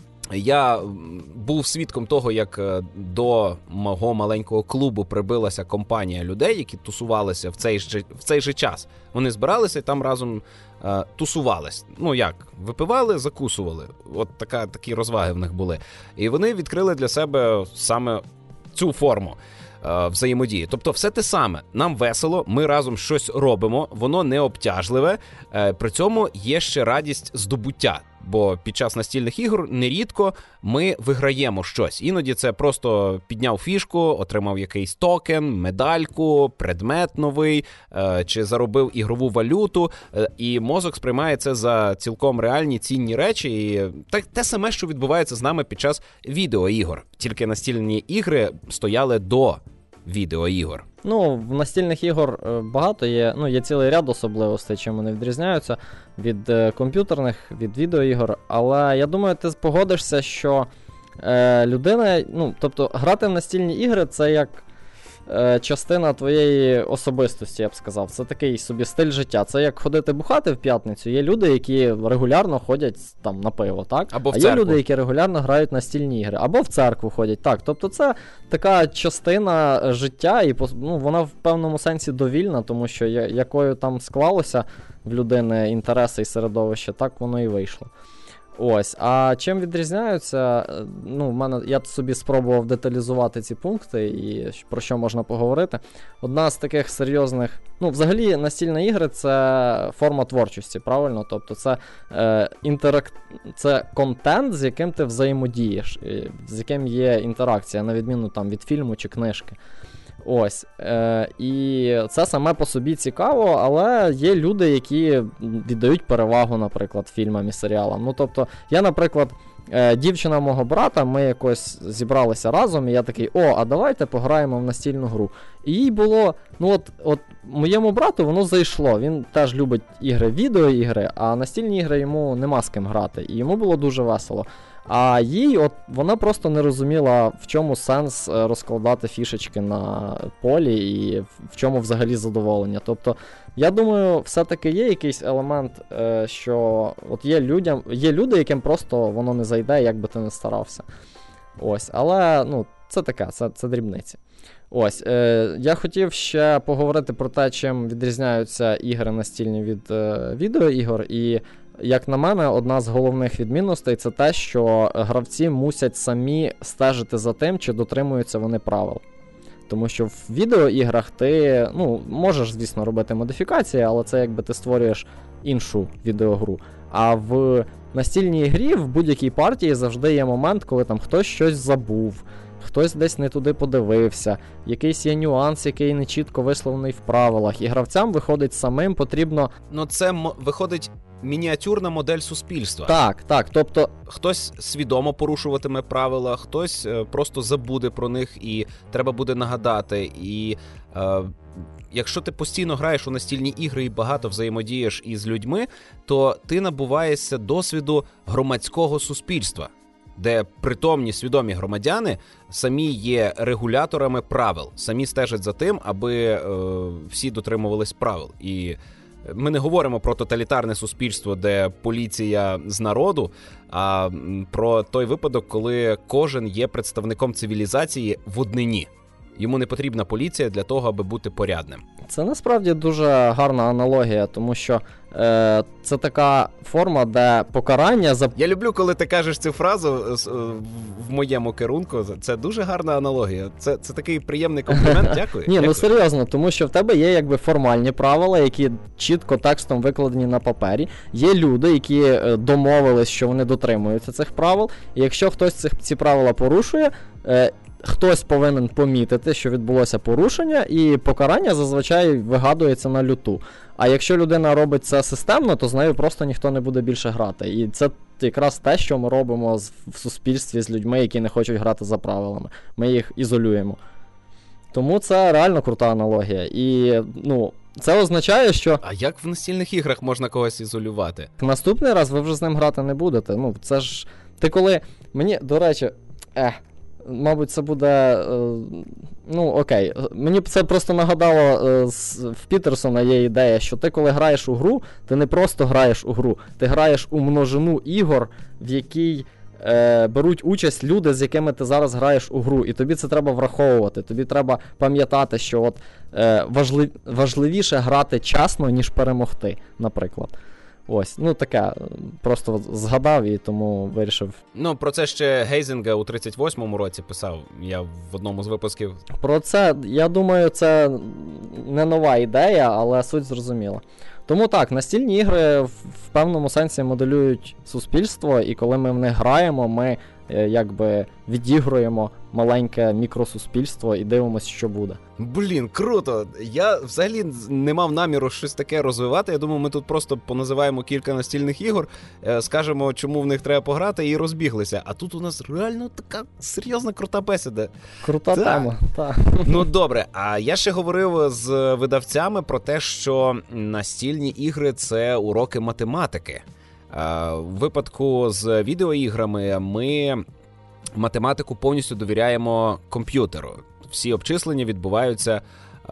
Я був свідком того, як до мого маленького клубу прибилася компанія людей, які тусувалися в цей же час. Вони збиралися і там разом тусувались. Випивали, закусували. От такі розваги в них були. І вони відкрили для себе саме цю форму взаємодії. Тобто все те саме. Нам весело, ми разом щось робимо, воно не обтяжливе, при цьому є ще радість здобуття. Бо під час настільних ігор нерідко ми виграємо щось. Іноді це просто підняв фішку, отримав якийсь токен, медальку, предмет новий, чи заробив ігрову валюту, і мозок сприймає це за цілком реальні цінні речі. І те саме, що відбувається з нами під час відеоігор. Тільки настільні ігри стояли до відеоігор. В настільних ігор багато є, є цілий ряд особливостей, чим вони відрізняються від комп'ютерних, від відеоігор, але я думаю, ти погодишся, що людина, тобто грати в настільні ігри – це як частина твоєї особистості, я б сказав. Це такий собі стиль життя. Це як ходити бухати в п'ятницю. Є люди, які регулярно ходять там на пиво, так? Або в церкву. А є люди, які регулярно грають настільні ігри. Або в церкву ходять, так. Тобто це така частина життя, і вона в певному сенсі довільна, тому що якою там склалося в людини інтереси і середовище, так воно і вийшло. Ось, а чим відрізняються, я собі спробував деталізувати ці пункти і про що можна поговорити. Одна з таких серйозних, взагалі настільні ігри – це форма творчості, правильно? Тобто це це контент, з яким ти взаємодієш, з яким є інтеракція, на відміну там від фільму чи книжки. Ось, і це саме по собі цікаво, але є люди, які віддають перевагу, наприклад, фільмам і серіалам. Тобто, я, наприклад, дівчина мого брата, ми якось зібралися разом, і я такий, а давайте пограємо в настільну гру. І їй було, от моєму брату воно зайшло, він теж любить ігри, відеоігри, а настільні ігри йому нема з ким грати, і йому було дуже весело. А їй, вона просто не розуміла, в чому сенс розкладати фішечки на полі і в чому взагалі задоволення. Тобто, я думаю, все-таки є якийсь елемент, що от є люди, яким просто воно не зайде, як би ти не старався. Ось, але, це таке, це дрібниці. Ось, я хотів ще поговорити про те, чим відрізняються ігри настільні від відеоігор, і як на мене, одна з головних відмінностей – це те, що гравці мусять самі стежити за тим, чи дотримуються вони правил. Тому що в відеоіграх ти, можеш, звісно, робити модифікації, але це якби ти створюєш іншу відеогру. А в настільній грі в будь-якій партії завжди є момент, коли там хтось щось забув, хтось десь не туди подивився, якийсь є нюанс, який не чітко висловлений в правилах, і гравцям виходить самим потрібно... Це виходить мініатюрна модель суспільства. Так, тобто... Хтось свідомо порушуватиме правила, хтось просто забуде про них і треба буде нагадати. І якщо ти постійно граєш у настільні ігри і багато взаємодієш із людьми, то ти набуваєшся досвіду громадського суспільства, де притомні, свідомі громадяни самі є регуляторами правил, самі стежать за тим, аби всі дотримувались правил. І ми не говоримо про тоталітарне суспільство, де поліція з народу, а про той випадок, коли кожен є представником цивілізації в однині. Йому не потрібна поліція для того, аби бути порядним. Це насправді дуже гарна аналогія, тому що це така форма, де покарання за... Я люблю, коли ти кажеш цю фразу в моєму керунку. Це дуже гарна аналогія. Це такий приємний комплімент. Дякую. Ні, серйозно, тому що в тебе є якби формальні правила, які чітко текстом викладені на папері. Є люди, які домовились, що вони дотримуються цих правил. І якщо хтось ці правила порушує, хтось повинен помітити, що відбулося порушення, і покарання зазвичай вигадується на люту. А якщо людина робить це системно, то з нею просто ніхто не буде більше грати. І це якраз те, що ми робимо в суспільстві з людьми, які не хочуть грати за правилами. Ми їх ізолюємо. Тому це реально крута аналогія. І, це означає, що... А як в настільних іграх можна когось ізолювати? Наступний раз ви вже з ним грати не будете. Це ж... Ти коли... Мені, до речі... Мабуть, це буде... окей. Мені це просто нагадало, в Пітерсона є ідея, що ти, коли граєш у гру, ти не просто граєш у гру, ти граєш у множину ігор, в якій беруть участь люди, з якими ти зараз граєш у гру. І тобі це треба враховувати. Тобі треба пам'ятати, що важливіше грати чесно, ніж перемогти, наприклад. Ось, таке, просто згадав і тому вирішив. Про це ще Гейзінга у 38-му році писав, я в одному з випусків. Про це, я думаю, це не нова ідея, але суть зрозуміла. Тому так, настільні ігри в певному сенсі моделюють суспільство, і коли ми в них граємо, ми якби відігруємо маленьке мікросуспільство і дивимося, що буде. Блін, круто! Я взагалі не мав наміру щось таке розвивати. Я думаю, ми тут просто поназиваємо кілька настільних ігор, скажемо, чому в них треба пограти, і розбіглися. А тут у нас реально така серйозна крута бесіда. Крута тема, так. Добре, а я ще говорив з видавцями про те, що настільні ігри – це уроки математики. В випадку з відеоіграми ми математику повністю довіряємо комп'ютеру. Всі обчислення відбуваються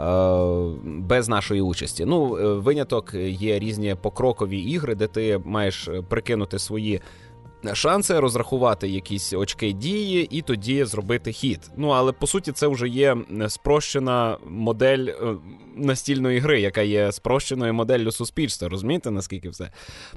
без нашої участі. Виняток є різні покрокові ігри, де ти маєш прикинути свої шанси, розрахувати якісь очки дії і тоді зробити хід. Але по суті це вже є спрощена модель настільної гри, яка є спрощеною моделлю суспільства. Розумієте, наскільки все?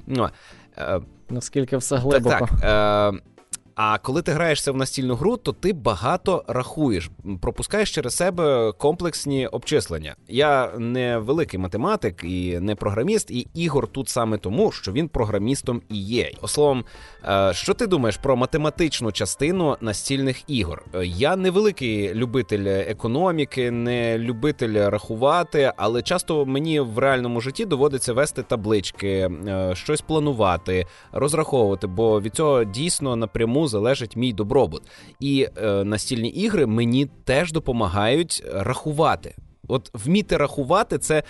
Наскільки все глибоко. Так. А коли ти граєшся в настільну гру, то ти багато рахуєш, пропускаєш через себе комплексні обчислення. Я не великий математик і не програміст, і Ігор тут саме тому, що він програмістом і є. Словом, що ти думаєш про математичну частину настільних ігор? Я не великий любитель економіки, не любитель рахувати, але часто мені в реальному житті доводиться вести таблички, щось планувати, розраховувати, бо від цього дійсно напряму чому залежить мій добробут. І настільні ігри мені теж допомагають рахувати. От вміти рахувати – це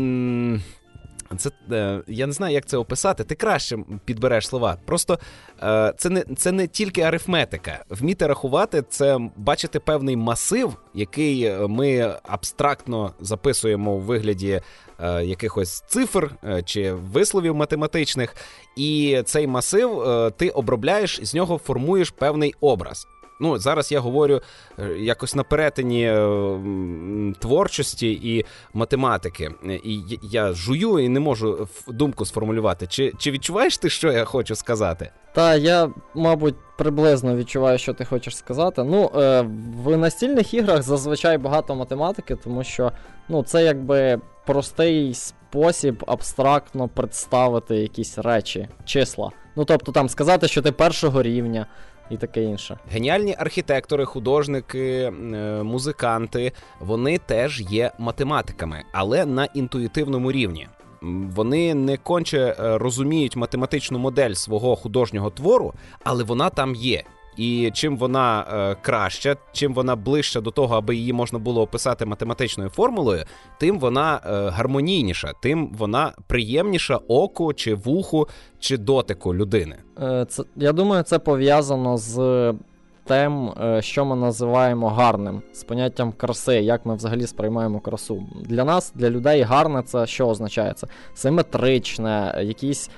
я не знаю, як це описати. Ти краще підбереш слова. Просто це не тільки арифметика. Вміти рахувати – це бачити певний масив, який ми абстрактно записуємо у вигляді якихось цифр чи висловів математичних. І цей масив ти обробляєш, з нього формуєш певний образ. Ну, зараз я говорю якось на перетині творчості і математики. І я жую і не можу думку сформулювати. Чи відчуваєш ти, що я хочу сказати? Та, я, мабуть, приблизно відчуваю, що ти хочеш сказати. Ну, в настільних іграх зазвичай багато математики, тому що, ну, це якби простий спосіб абстрактно представити якісь речі, числа. Ну, тобто там сказати, що ти першого рівня, і таке інше. Геніальні архітектори, художники, музиканти, вони теж є математиками, але на інтуїтивному рівні. Вони не конче розуміють математичну модель свого художнього твору, але вона там є. І чим вона краща, чим вона ближча до того, аби її можна було описати математичною формулою, тим вона гармонійніша, тим вона приємніша оку, чи вуху, чи дотику людини. Я думаю, це пов'язано з тим, що ми називаємо гарним, з поняттям краси, як ми взагалі сприймаємо красу. Для нас, для людей, гарне це що означає? Це симетричне, якісь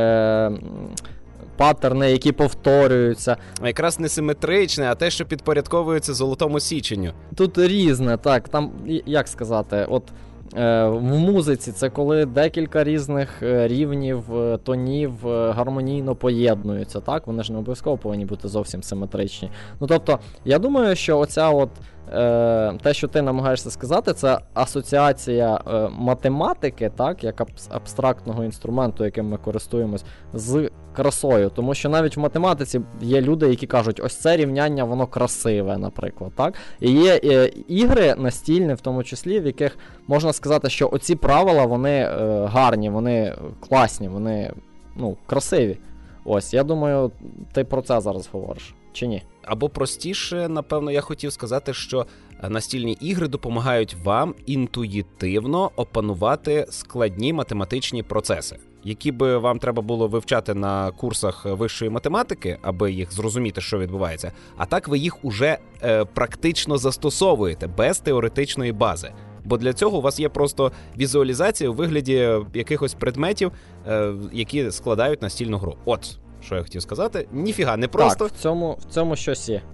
паттерни, які повторюються. А якраз не симетричне, а те, що підпорядковується золотому січенню. Тут різне, так, там, як сказати, от в музиці це коли декілька різних рівнів, тонів гармонійно поєднуються, так? Вони ж не обов'язково повинні бути зовсім симетричні. Ну, тобто, я думаю, що оця от те, що ти намагаєшся сказати, це асоціація математики, так, як абстрактного інструменту, яким ми користуємось, з красою. Тому що навіть в математиці є люди, які кажуть, ось це рівняння, воно красиве, наприклад, так? І є ігри настільні, в тому числі, в яких можна сказати, що оці правила, вони гарні, вони класні, вони, ну, красиві. Ось, я думаю, ти про це зараз говориш, чи ні? Або простіше, напевно, я хотів сказати, що настільні ігри допомагають вам інтуїтивно опанувати складні математичні процеси, які би вам треба було вивчати на курсах вищої математики, аби їх зрозуміти, що відбувається, а так ви їх уже практично застосовуєте, без теоретичної бази. Бо для цього у вас є просто візуалізація у вигляді якихось предметів, які складають настільну гру. От, що я хотів сказати. Ніфіга, не просто. Так, в цьому щось є.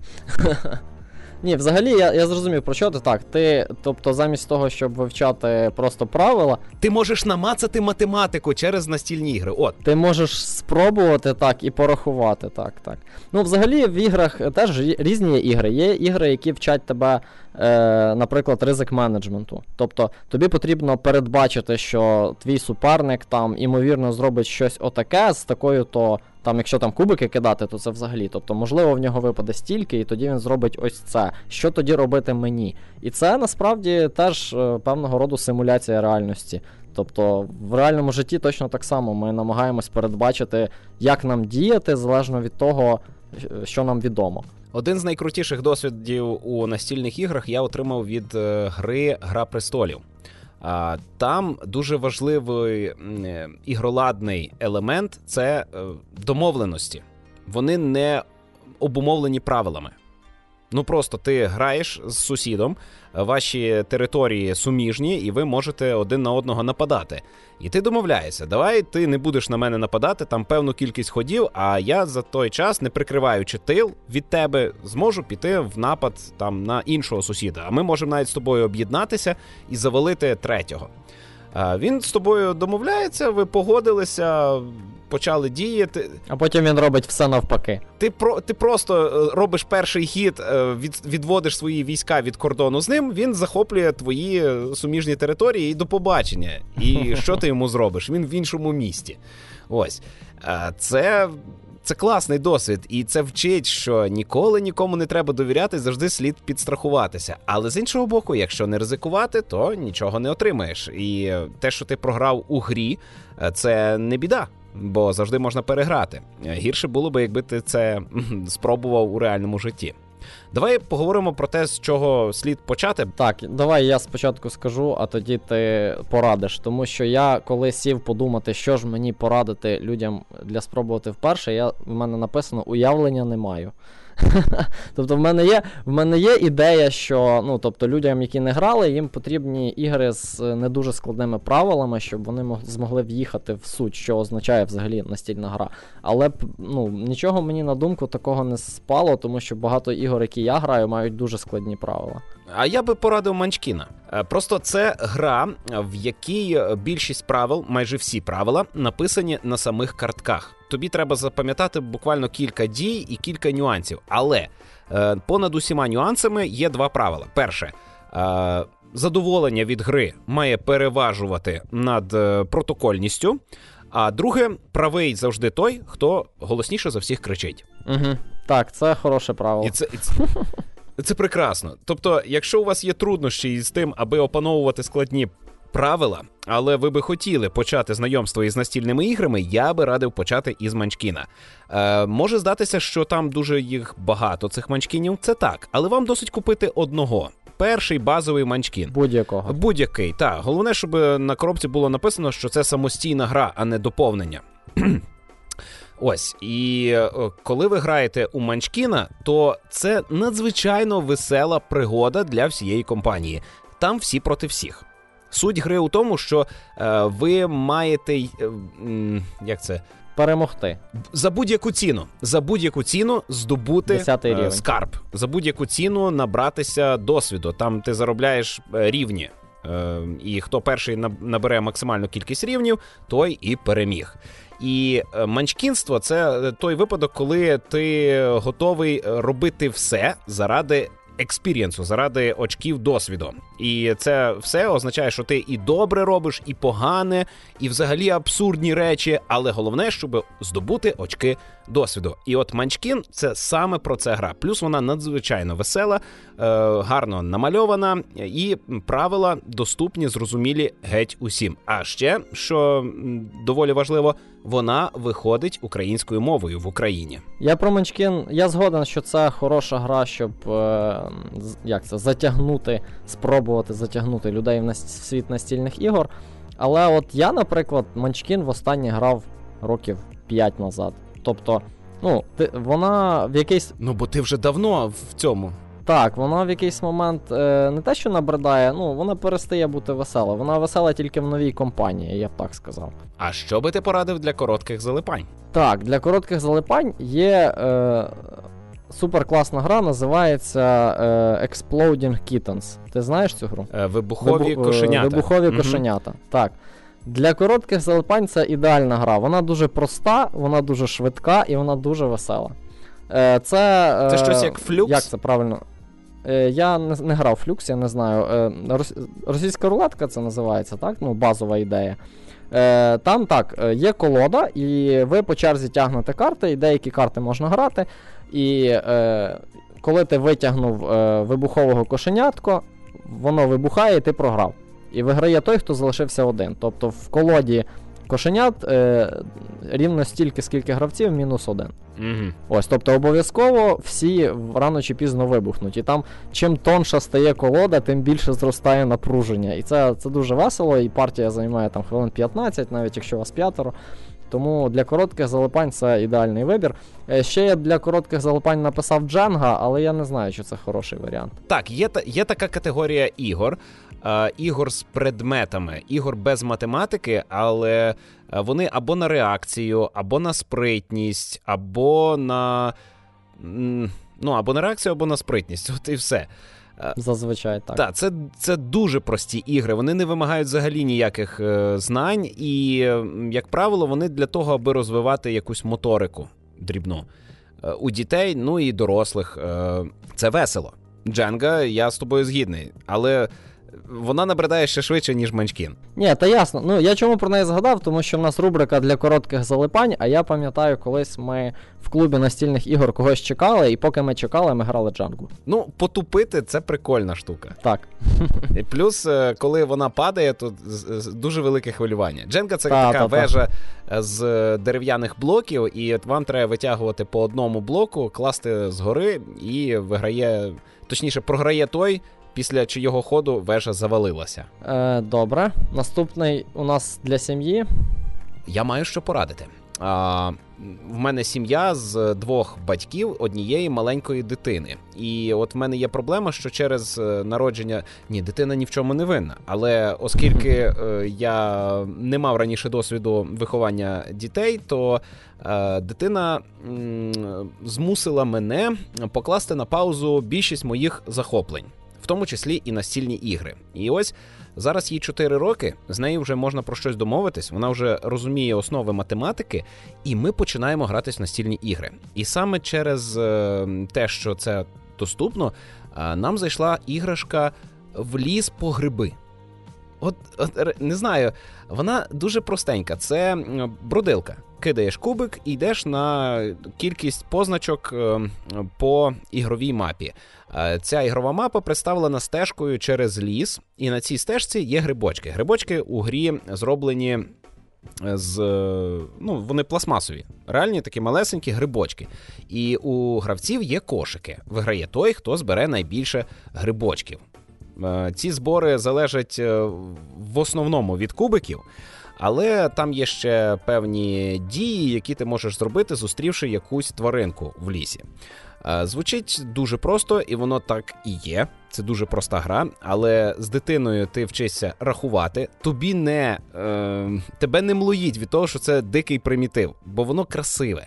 Ні, взагалі, я зрозумів, про що ти так. Ти, тобто, замість того, щоб вивчати просто правила... Ти можеш намацати математику через настільні ігри, от. Ти можеш спробувати, так, і порахувати, так. Ну, взагалі, в іграх теж різні є ігри. Є ігри, які вчать тебе, наприклад, ризик-менеджменту. Тобто, тобі потрібно передбачити, що твій суперник там, імовірно, зробить щось отаке з такою-то... Там, якщо там кубики кидати, то це взагалі. Тобто, можливо, в нього випаде стільки, і тоді він зробить ось це. Що тоді робити мені? І це, насправді, теж певного роду симуляція реальності. Тобто, в реальному житті точно так само. Ми намагаємось передбачити, як нам діяти, залежно від того, що нам відомо. Один з найкрутіших досвідів у настільних іграх я отримав від гри «Гра престолів». Там дуже важливий ігроладний елемент – це домовленості. Вони не обумовлені правилами. Ну просто ти граєш з сусідом, ваші території суміжні, і ви можете один на одного нападати. І ти домовляєшся, давай ти не будеш на мене нападати, там певну кількість ходів, а я за той час, не прикриваючи тил від тебе, зможу піти в напад там на іншого сусіда. А ми можемо навіть з тобою об'єднатися і завалити третього. Він з тобою домовляється, ви погодилися, почали діяти. А потім він робить все навпаки. Ти просто робиш перший хід, відводиш свої війська від кордону з ним, він захоплює твої суміжні території і до побачення. І що ти йому зробиш? Він в іншому місті. Ось. Це класний досвід, і це вчить, що ніколи нікому не треба довіряти, завжди слід підстрахуватися. Але з іншого боку, якщо не ризикувати, то нічого не отримаєш. І те, що ти програв у грі, це не біда. бо завжди можна переграти. Гірше було би, якби ти це спробував у реальному житті. Давай поговоримо про те, з чого слід почати. Так, давай я спочатку скажу, а тоді ти порадиш. Тому що я, коли сів подумати, що ж мені порадити людям для спробувати вперше, в мене написано «уявлення не маю». Тобто в мене є ідея, що тобто людям, які не грали, їм потрібні ігри з не дуже складними правилами, щоб вони змогли в'їхати в суть, що означає взагалі настільна гра. Але нічого мені на думку такого не спало, тому що багато ігор, які я граю, мають дуже складні правила. А я би порадив Манчкіна. Просто це гра, в якій більшість правил, майже всі правила, написані на самих картках. Тобі треба запам'ятати буквально кілька дій і кілька нюансів. Але понад усіма нюансами є два правила. Перше, задоволення від гри має переважувати над протокольністю. А друге, правий завжди той, хто голосніше за всіх кричить. Угу. Так, це хороше правило. Це прекрасно. Тобто, якщо у вас є труднощі із тим, аби опановувати складні правила, але ви би хотіли почати знайомство із настільними іграми, я би радив почати із Манчкіна. Може здатися, що там дуже їх багато, цих Манчкінів, це так, але вам досить купити одного. Перший базовий Манчкін. Будь-якого. Будь-який, так. Головне, щоб на коробці було написано, що це самостійна гра, а не доповнення. Ось, і коли ви граєте у Манчкіна, то це надзвичайно весела пригода для всієї компанії. Там всі проти всіх. Суть гри у тому, що ви маєте, перемогти. За будь-яку ціну здобути скарб. За будь-яку ціну набратися досвіду. Там ти заробляєш рівні. І хто перший набере максимальну кількість рівнів, той і переміг. І манчкінство – це той випадок, коли ти готовий робити все заради експірієнсу, заради очків досвіду. І це все означає, що ти і добре робиш, і погане, і взагалі абсурдні речі, але головне, щоб здобути очки досвіду. І от Манчкін – це саме про це гра. Плюс вона надзвичайно весела, гарно намальована, і правила доступні, зрозумілі геть усім. А ще, що доволі важливо, вона виходить українською мовою в Україні. Я про Манчкін, я згоден, що це хороша гра, щоб спробувати затягнути людей в світ настільних ігор. Але от я, наприклад, Манчкін востаннє грав років 5 назад. Тобто, вона в якийсь... бо ти вже давно в цьому. Так, вона в якийсь момент не те, що набридає, вона перестає бути весела. Вона весела тільки в новій компанії, я б так сказав. А що би ти порадив для коротких залипань? Так, для коротких залипань є суперкласна гра, називається Exploding Kittens. Ти знаєш цю гру? Вибухові кошенята. Вибухові кошенята, так. Для коротких залипань це ідеальна гра. Вона дуже проста, вона дуже швидка і вона дуже весела. Це щось як Флюкс? Як це правильно? Я не грав Флюкс, я не знаю. Російська рулетка це називається, так? Базова ідея. Там так, є колода, і ви по черзі тягнете карти, і деякі карти можна грати. І коли ти витягнув вибухового кошенятко, воно вибухає, і ти програв. І виграє той, хто залишився один. Тобто в колоді кошенят рівно стільки, скільки гравців, мінус один. Mm-hmm. Ось, тобто обов'язково всі рано чи пізно вибухнуть. І там, чим тонша стає колода, тим більше зростає напруження. І це дуже весело, і партія займає там хвилин 15, навіть якщо вас 5. Тому для коротких залипань це ідеальний вибір. Ще я для коротких залипань написав Дженга, але я не знаю, чи це хороший варіант. Так, є така категорія ігор. Ігор з предметами, ігор без математики, але вони або на реакцію, або на спритність, або на реакцію, або на спритність. От і все. Зазвичай так. Так, це дуже прості ігри, вони не вимагають взагалі ніяких знань, і, як правило, вони для того, аби розвивати якусь моторику дрібну. У дітей, і дорослих. Це весело. Дженга, я з тобою згідний, але вона набридає ще швидше, ніж Манчкін. Ні, та ясно. Ну, я чому про неї згадав, тому що в нас рубрика для коротких залипань, а я пам'ятаю, колись ми в клубі настільних ігор когось чекали, і поки ми чекали, ми грали Джангу. Ну, потупити – це прикольна штука. Так. І плюс, коли вона падає, то дуже велике хвилювання. Дженга – це така вежа з дерев'яних блоків, і вам треба витягувати по одному блоку, класти згори, і виграє, точніше, програє той, після чийого ходу вежа завалилася. Добре. Наступний у нас для сім'ї. Я маю що порадити. В мене сім'я з 2 батьків однієї маленької дитини. І от в мене є проблема, що через народження... Ні, дитина ні в чому не винна. Але оскільки я не мав раніше досвіду виховання дітей, то дитина змусила мене покласти на паузу більшість моїх захоплень. В тому числі і настільні ігри. І ось зараз їй 4 роки, з нею вже можна про щось домовитись, вона вже розуміє основи математики, і ми починаємо гратись в настільні ігри. І саме через те, що це доступно, нам зайшла іграшка в ліс по гриби. От не знаю, вона дуже простенька. Це бродилка. Кидаєш кубик і йдеш на кількість позначок по ігровій мапі. Ця ігрова мапа представлена стежкою через ліс, і на цій стежці є грибочки. Грибочки у грі зроблені вони пластмасові. Реальні такі малесенькі грибочки. І у гравців є кошики. Виграє той, хто збере найбільше грибочків. Ці збори залежать в основному від кубиків, але там є ще певні дії, які ти можеш зробити, зустрівши якусь тваринку в лісі. Звучить дуже просто, і воно так і є. Це дуже проста гра, але з дитиною ти вчишся рахувати. Тебе не млоїть від того, що це дикий примітив, бо воно красиве.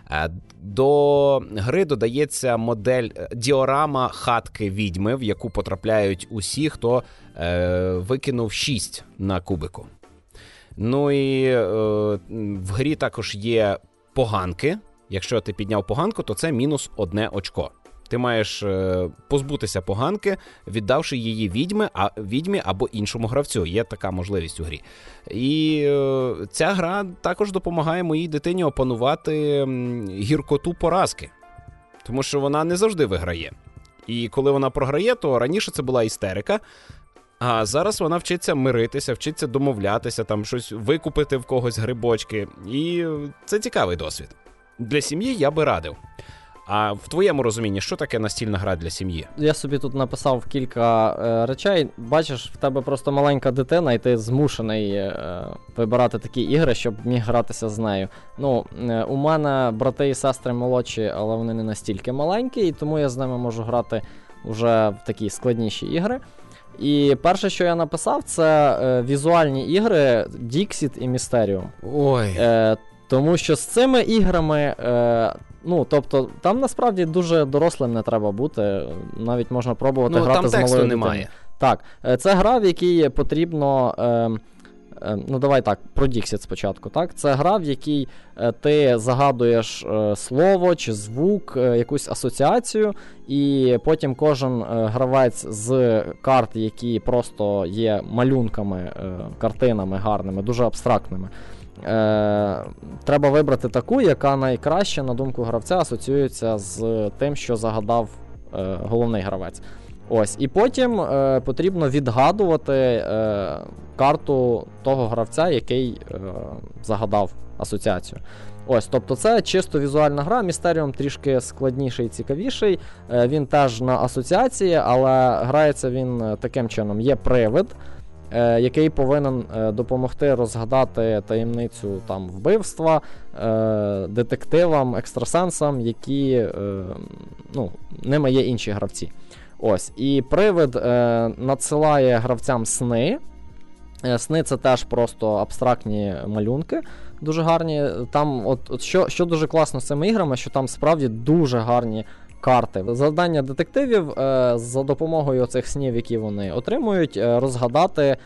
До гри додається модель діорама хатки відьми, в яку потрапляють усі, хто викинув 6 на кубику. Ну і в грі також є поганки. Якщо ти підняв поганку, то це мінус 1 очко. Ти маєш позбутися поганки, віддавши її відьмі або іншому гравцю. Є така можливість у грі. І ця гра також допомагає моїй дитині опанувати гіркоту поразки. Тому що вона не завжди виграє. І коли вона програє, то раніше це була істерика, а зараз вона вчиться миритися, вчиться домовлятися, там щось викупити в когось грибочки. І це цікавий досвід. Для сім'ї я би радив. А в твоєму розумінні, що таке настільна гра для сім'ї? Я собі тут написав кілька речей. Бачиш, в тебе просто маленька дитина, і ти змушений вибирати такі ігри, щоб міг гратися з нею. У мене брати і сестри молодші, але вони не настільки маленькі, і тому я з ними можу грати вже в такі складніші ігри. І перше, що я написав, це візуальні ігри Dixit і Mysterium. Ой. Тому що з цими іграми, тобто, там насправді дуже дорослим не треба бути, навіть можна пробувати грати з малою дитиною. Немає. Так, це гра, в якій потрібно, давай так, про Dixit спочатку, так? Це гра, в якій ти загадуєш слово чи звук, якусь асоціацію, і потім кожен гравець з карт, які просто є малюнками, картинами гарними, дуже абстрактними, треба вибрати таку, яка найкраще, на думку гравця, асоціюється з тим, що загадав головний гравець. Ось, і потім потрібно відгадувати карту того гравця, який загадав асоціацію. Ось, тобто це чисто візуальна гра, Mysterium трішки складніший і цікавіший, він теж на асоціації, але грається він таким чином. Є привид, який повинен допомогти розгадати таємницю там вбивства детективам, екстрасенсам, які, ними є інші гравці. Ось, і привид надсилає гравцям сни. Сни — це теж просто абстрактні малюнки, дуже гарні. Там, що дуже класно з цими іграми, що там справді дуже гарні карти. Завдання детективів за допомогою цих снів, які вони отримують, розгадати,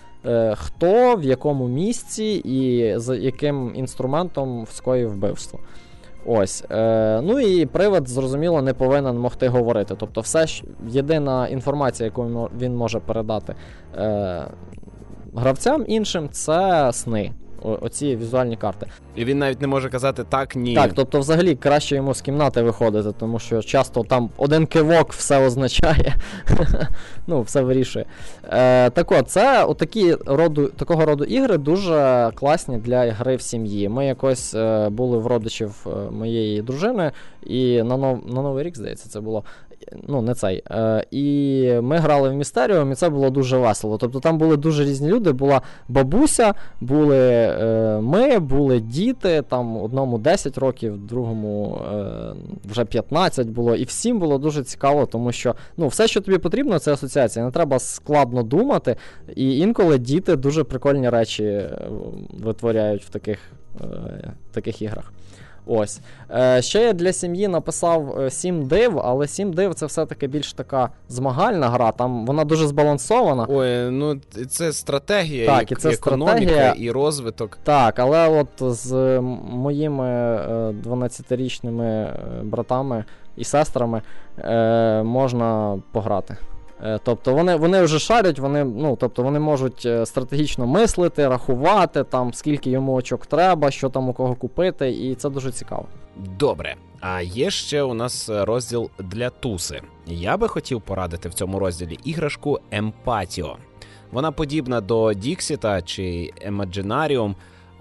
хто в якому місці і з яким інструментом скоїв вбивство. Ось. Ну і привид, зрозуміло, не повинен могти говорити. Тобто єдина інформація, яку він може передати гравцям іншим, це сни. Оці візуальні карти. І він навіть не може казати так, ні. Так, тобто взагалі краще йому з кімнати виходити, тому що часто там один кивок все означає. Ну, все вирішує. Так от, це такого роду ігри дуже класні для гри в сім'ї. Ми якось були в родичів моєї дружини, і на Новий рік, здається, це було. Ну, не цей. І ми грали в Містеріум, і це було дуже весело. Тобто там були дуже різні люди. Була бабуся, були ми, були діти, там одному 10 років, другому вже 15 було. І всім було дуже цікаво, тому що все, що тобі потрібно, це асоціація. Не треба складно думати. І інколи діти дуже прикольні речі витворяють в таких іграх. Ось. Ще я для сім'ї написав 7 див, але 7 див це все-таки більш така змагальна гра, там вона дуже збалансована. Ой, ну це стратегія, так, і це економіка, стратегія, і розвиток. Так, але от з моїми 12-річними братами і сестрами можна пограти. Тобто вони вже шарять, вони можуть стратегічно мислити, рахувати, там, скільки йому очок треба, що там у кого купити, і це дуже цікаво. Добре, а є ще у нас розділ для туси. Я би хотів порадити в цьому розділі іграшку Емпатіо. Вона подібна до Діксіта чи Емаджинаріум.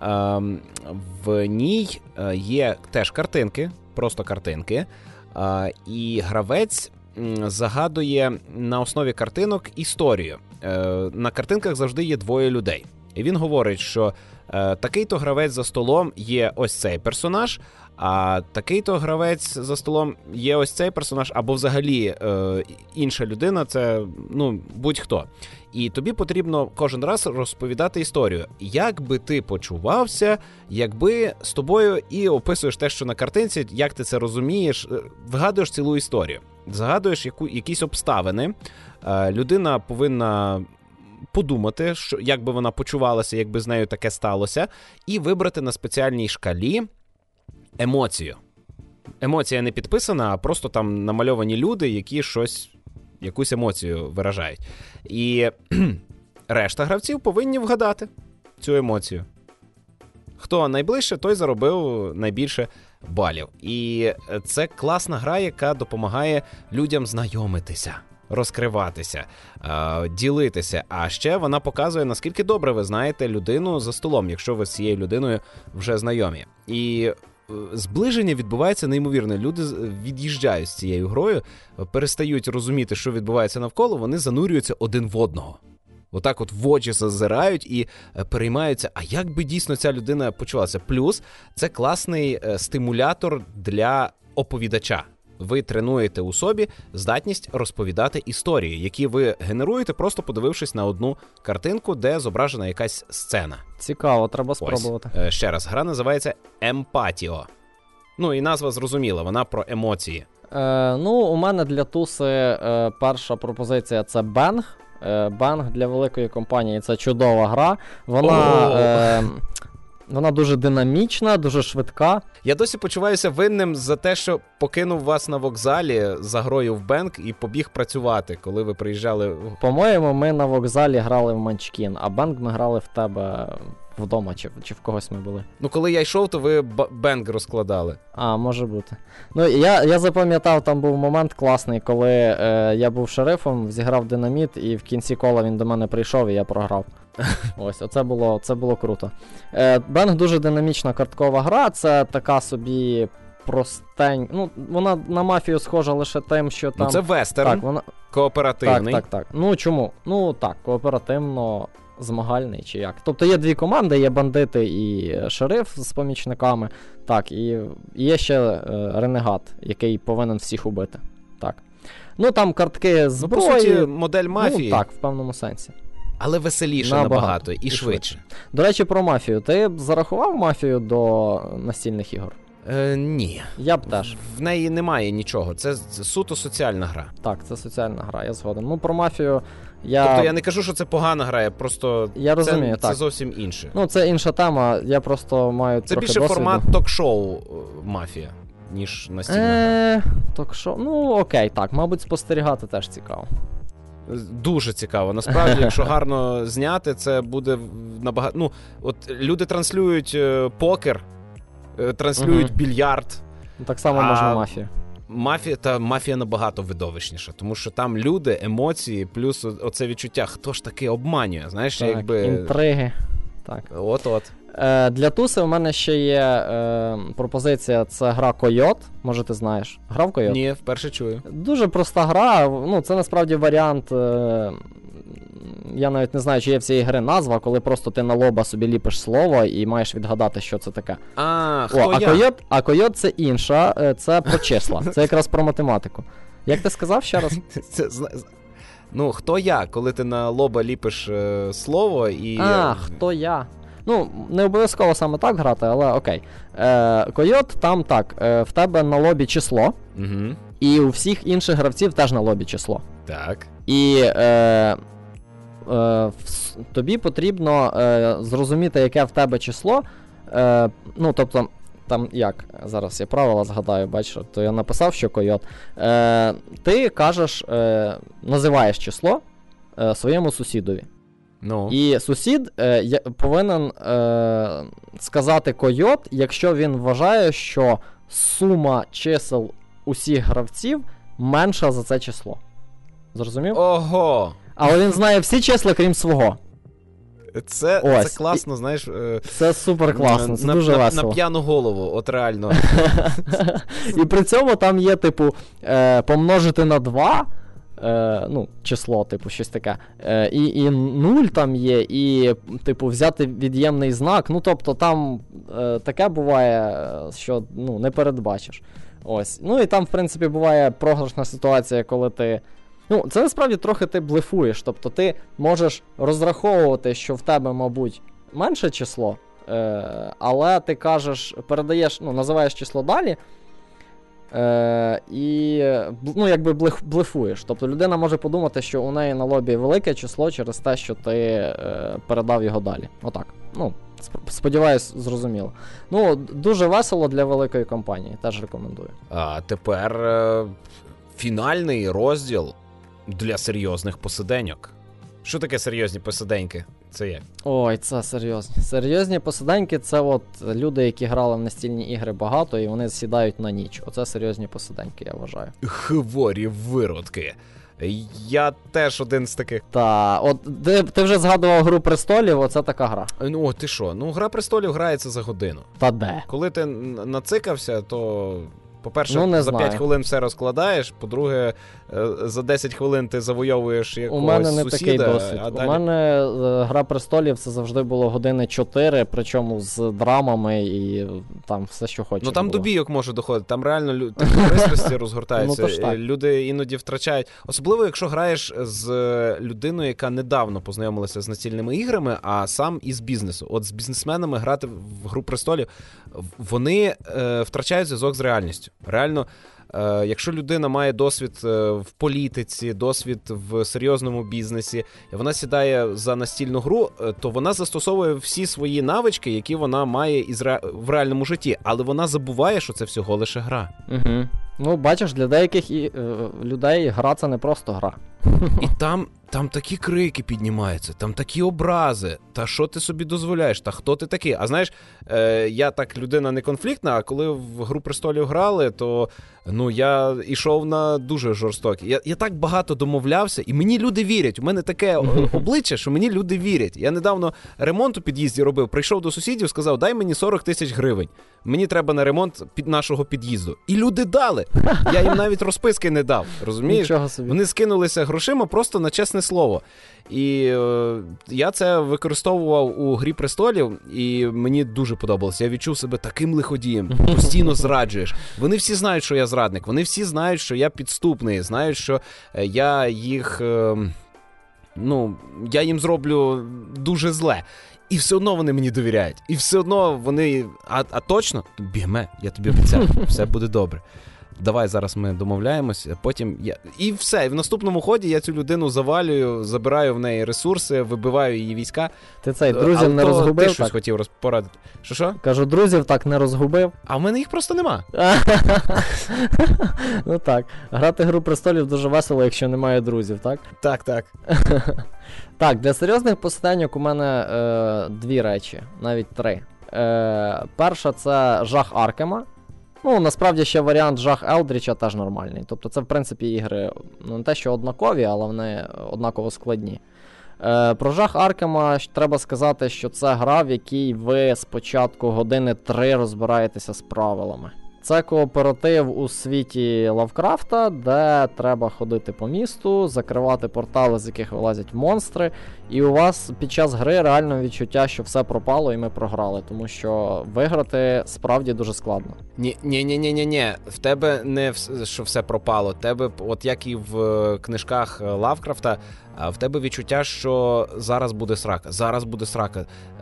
В ній є теж картинки, просто картинки, і гравець загадує на основі картинок історію. На картинках завжди є двоє людей. І він говорить, що такий-то гравець за столом є ось цей персонаж, а такий-то гравець за столом є ось цей персонаж, або взагалі інша людина, це будь-хто. І тобі потрібно кожен раз розповідати історію. Як би ти почувався, якби з тобою і описуєш те, що на картинці, як ти це розумієш, вигадуєш цілу історію. Загадуєш якісь обставини, людина повинна подумати, як би вона почувалася, якби з нею таке сталося, і вибрати на спеціальній шкалі емоцію. Емоція не підписана, а просто там намальовані люди, які якусь емоцію виражають. І решта гравців повинні вгадати цю емоцію. Хто найближче, той заробив найбільше балів. І це класна гра, яка допомагає людям знайомитися, розкриватися, ділитися. А ще вона показує, наскільки добре ви знаєте людину за столом, якщо ви з цією людиною вже знайомі. І зближення відбувається неймовірно. Люди від'їжджають з цією грою, перестають розуміти, що відбувається навколо, вони занурюються один в одного. Отак от в очі зазирають і переймаються, а як би дійсно ця людина почувалася. Плюс це класний стимулятор для оповідача. Ви тренуєте у собі здатність розповідати історії, які ви генеруєте, просто подивившись на одну картинку, де зображена якась сцена. Цікаво, треба спробувати. Ось, ще раз, гра називається Емпатіо. І назва зрозуміла, вона про емоції. У мене для туси перша пропозиція – це Bang. Bang для великої компанії – це чудова гра. Вона дуже динамічна, дуже швидка. Я досі почуваюся винним за те, що покинув вас на вокзалі за грою в Bang і побіг працювати, коли ви приїжджали. По-моєму, ми на вокзалі грали в Munchkin, а Bang ми грали в тебе вдома, чи в когось ми були. Коли я йшов, то ви Bang розкладали. А, може бути. Я запам'ятав, там був момент класний, коли я був шерифом, зіграв динаміт, і в кінці кола він до мене прийшов, і я програв. Ось, це було круто. Bang дуже динамічна карткова гра, це така собі простень. Вона на мафію схожа лише тим, що там... це вестерн, кооперативний. Так. Чому? Кооперативно змагальний чи як. Тобто є дві команди, є бандити і шериф з помічниками, так, і є ще ренегат, який повинен всіх убити. Так. Там картки зброї. По суті, модель мафії. Так, в певному сенсі. Але веселіше набагато і швидше. До речі, про мафію. Ти б зарахував мафію до настільних ігор? Ні. Я б теж. В неї немає нічого. Це суто соціальна гра. Так, це соціальна гра, я згоден. Ну, про мафію Тобто я не кажу, що це погана гра, я просто... Я розумію, це так. зовсім інше. Ну, це інша тема, я просто маю Це трохи більше досвіду. формат ток-шоу «Мафія», ніж настільна гра. Ток-шоу, ну окей, так, мабуть, спостерігати теж цікаво. Дуже цікаво. Насправді, якщо гарно зняти, це буде набагато... Ну, от люди транслюють покер, транслюють більярд. Так само можна мафію. Мафія набагато видовищніша, тому що там люди, емоції, плюс оце відчуття, хто ж таки обманює, знаєш, так, якби... інтриги. Так. От-от. Для Туси у мене ще є пропозиція, це гра Койот, може ти знаєш. Грав Койот? Ні, вперше чую. Дуже проста гра, ну це насправді варіант, я навіть не знаю, чи є в цій гри назва, коли просто ти на лоба собі ліпиш слово і маєш відгадати, що це таке. А Койот це інша, це про числа, це якраз про математику. Як ти сказав ще раз? Ну, хто я, коли ти на лоба ліпиш слово і... Хто я? Ну, не обов'язково саме так грати, але окей. Койот там так, в тебе на лобі число, і у всіх інших гравців теж на лобі число. Так. І тобі потрібно зрозуміти, яке в тебе число. Ну, тобто, там як, зараз я правила згадаю, бачиш, то я написав, що Койот. Ти кажеш, називаєш число своєму сусідові. Ну. І сусід повинен сказати Койот, якщо він вважає, що сума чисел усіх гравців менша за це число. Зрозумів? Ого! Але він знає всі числа, крім свого. Це класно, знаєш. Це супер класно, це дуже весело. На п'яну голову, от реально. І при цьому там є, типу, помножити на 2, ну, число, типу, щось таке. І 0 там є, і, типу, взяти від'ємний знак. Ну, тобто, там таке буває, що, ну, не передбачиш. Ось. Ну, і там, в принципі, буває програшна ситуація, коли ти... Ну, це насправді трохи ти блефуєш. Тобто, ти можеш розраховувати, що в тебе, мабуть, менше число, але ти кажеш, передаєш, ну, називаєш число далі, і, ну, якби блефуєш. Тобто людина може подумати, що у неї на лобі велике число через те, що ти передав його далі. Отак. Ну, сподіваюсь, зрозуміло. Ну, дуже весело для великої компанії, теж рекомендую. А тепер фінальний розділ для серйозних посиденьок. Що таке серйозні посиденьки? Це як? Ой, це серйозні. Серйозні посиденьки — це от люди, які грали в настільні ігри багато, і вони сідають на ніч. Оце серйозні посиденьки, я вважаю. Хворі виродки. Я теж один з таких. Та, от ти вже згадував «Гру престолів», оце така гра. Ну, ти що? Ну, «Гра престолів» грається за годину. Та де? Коли ти нацикався, то... По-перше, ну, за 5 хвилин все розкладаєш, по-друге, за 10 хвилин ти завойовуєш якогось сусіда. У мене не такий досвід. А далі... У мене «Гра престолів» це завжди було години 4, причому з драмами і там все, що хочеш. Ну там було. До бійок може доходити, там реально пристрасті розгортаються, ну, люди іноді втрачають. Особливо, якщо граєш з людиною, яка недавно познайомилася з настільними іграми, а сам із бізнесу. От з бізнесменами грати в «Гру престолів», вони втрачають зв'язок з реальністю. Реально, якщо людина має досвід в політиці, досвід в серйозному бізнесі, і вона сідає за настільну гру, то вона застосовує всі свої навички, які вона має в реальному житті, але вона забуває, що це всього лише гра. Угу. Ну, бачиш, для деяких людей гра — це не просто гра. І там такі крики піднімаються, там такі образи. Та що ти собі дозволяєш? Та хто ти такий? А знаєш, я так людина не конфліктна, а коли в «Гру престолів» грали, то ну, я йшов на дуже жорстокі. Я так багато домовлявся, і мені люди вірять. У мене таке обличчя, що мені люди вірять. Я недавно ремонт у під'їзді робив, прийшов до сусідів, сказав, дай мені 40 тисяч гривень. Мені треба на ремонт нашого під'їзду. І люди дали. Я їм навіть розписки не дав, розумієш? Нічого собі. Вони скинулися грошима просто на чесне слово. І я це використовував у «Грі престолів», і мені дуже подобалося. Я відчув себе таким лиходієм. Постійно зраджуєш. Вони всі знають, що я зрадник. Вони всі знають, що я підступний. Знають, що я їх... я їм зроблю дуже зле. І все одно вони мені довіряють. І все одно вони... А точно? Бігме, я тобі обіцяю, все буде добре. Давай зараз ми домовляємося, потім я... І все, і в наступному ході я цю людину завалюю, забираю в неї ресурси, вибиваю її війська. Ти цей, друзів не розгубив? Ти щось хотів порадити. Що? Кажу, друзів так не розгубив. А в мене їх просто нема. Ну так, грати «Гру престолів» дуже весело, якщо немає друзів, так? Так. Так, для серйозних посиденьок у мене дві речі, навіть три. Перша — це жах Аркема. Ну, насправді ще варіант жах Елдріча теж нормальний. Тобто це, в принципі, ігри, ну, не те, що однакові, але вони однаково складні. Про жах Аркема треба сказати, що це гра, в якій ви спочатку години 3 розбираєтеся з правилами. Це кооператив у світі Лавкрафта, де треба ходити по місту, закривати портали, з яких вилазять монстри, і у вас під час гри реально відчуття, що все пропало і ми програли, тому що виграти справді дуже складно. Ні, в тебе не що все пропало, в тебе, от як і в книжках Лавкрафта, в тебе відчуття, що зараз буде срака.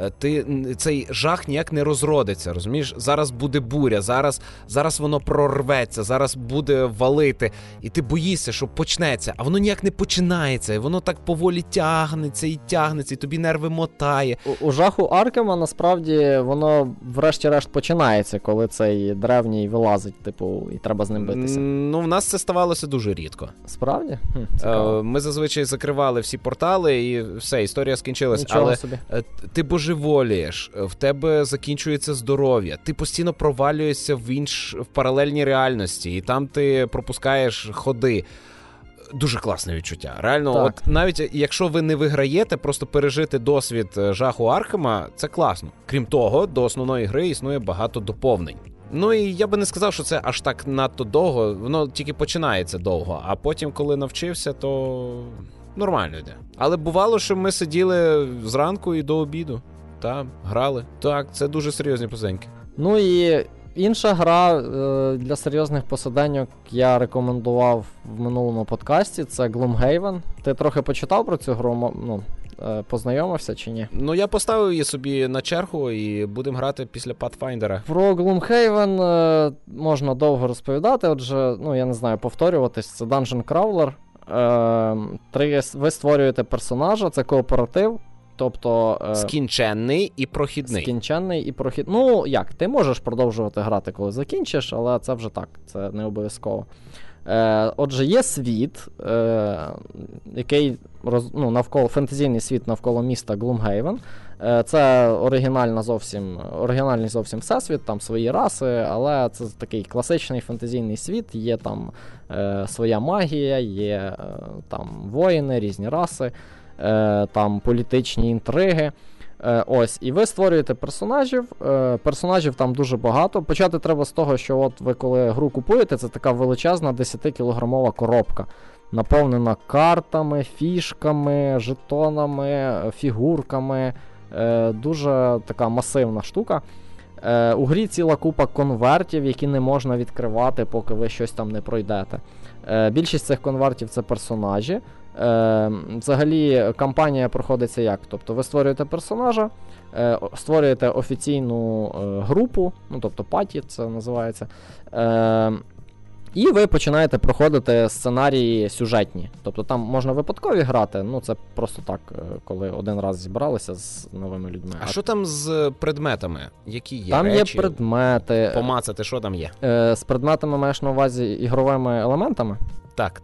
Цей жах ніяк не розродиться, розумієш? Зараз буде буря, зараз воно прорветься, зараз буде валити, і ти боїшся, що почнеться, а воно ніяк не починається, і воно так поволі тягнеться, і тобі нерви мотає. У жаху Аркема, насправді, воно врешті-решт починається, коли цей древній вилазить, типу, і треба з ним битися. Ну, в нас це ставалося дуже рідко. Справді? Ми зазвичай закривали всі портали, і все, історія скінчилась. Нічого але собі. Ти божеволієш, в тебе закінчується здоров'я, ти постійно провалюєшся в паралельній реальності, і там ти пропускаєш ходи. Дуже класне відчуття. Реально, так. От навіть якщо ви не виграєте, просто пережити досвід жаху Аркема, це класно. Крім того, до основної гри існує багато доповнень. Ну і я би не сказав, що це аж так надто довго, воно тільки починається довго, а потім, коли навчився, то нормально йде. Але бувало, що ми сиділи зранку і до обіду, грали. Так, це дуже серйозні позеньки. Ну і інша гра для серйозних посиденьок я рекомендував в минулому подкасті, це Gloomhaven. Ти трохи почитав про цю гру, познайомився чи ні? Ну, я поставив її собі на чергу і будемо грати після Pathfinder. Про Gloomhaven можна довго розповідати, отже, я не знаю, повторюватись, це Dungeon Crawler. Ви створюєте персонажа, це кооператив. Тобто... Скінченний і прохідний. Ну, як, ти можеш продовжувати грати, коли закінчиш, але це вже так, це не обов'язково. Отже, є світ, який навколо, фентезійний світ навколо міста Gloomhaven. Це оригінальний зовсім всесвіт, там свої раси, але це такий класичний фентезійний світ, є там своя магія, є там воїни, різні раси. Там політичні інтриги. Ось, і ви створюєте персонажів. Персонажів там дуже багато. Почати треба з того, що от ви коли гру купуєте, це така величезна 10-кілограмова коробка, наповнена картами, фішками, жетонами, фігурками. Дуже така масивна штука. У грі ціла купа конвертів, які не можна відкривати, поки ви щось там не пройдете. Більшість цих конвертів — це персонажі. Взагалі, кампанія проходиться як? Тобто ви створюєте персонажа, створюєте офіційну групу, тобто паті це називається, і ви починаєте проходити сценарії сюжетні. Тобто там можна випадкові грати, це просто так, коли один раз зібралися з новими людьми. А що там з предметами? Які є там речі? Є предмети. Помацати, що там є? З предметами маєш на увазі ігровими елементами? Так.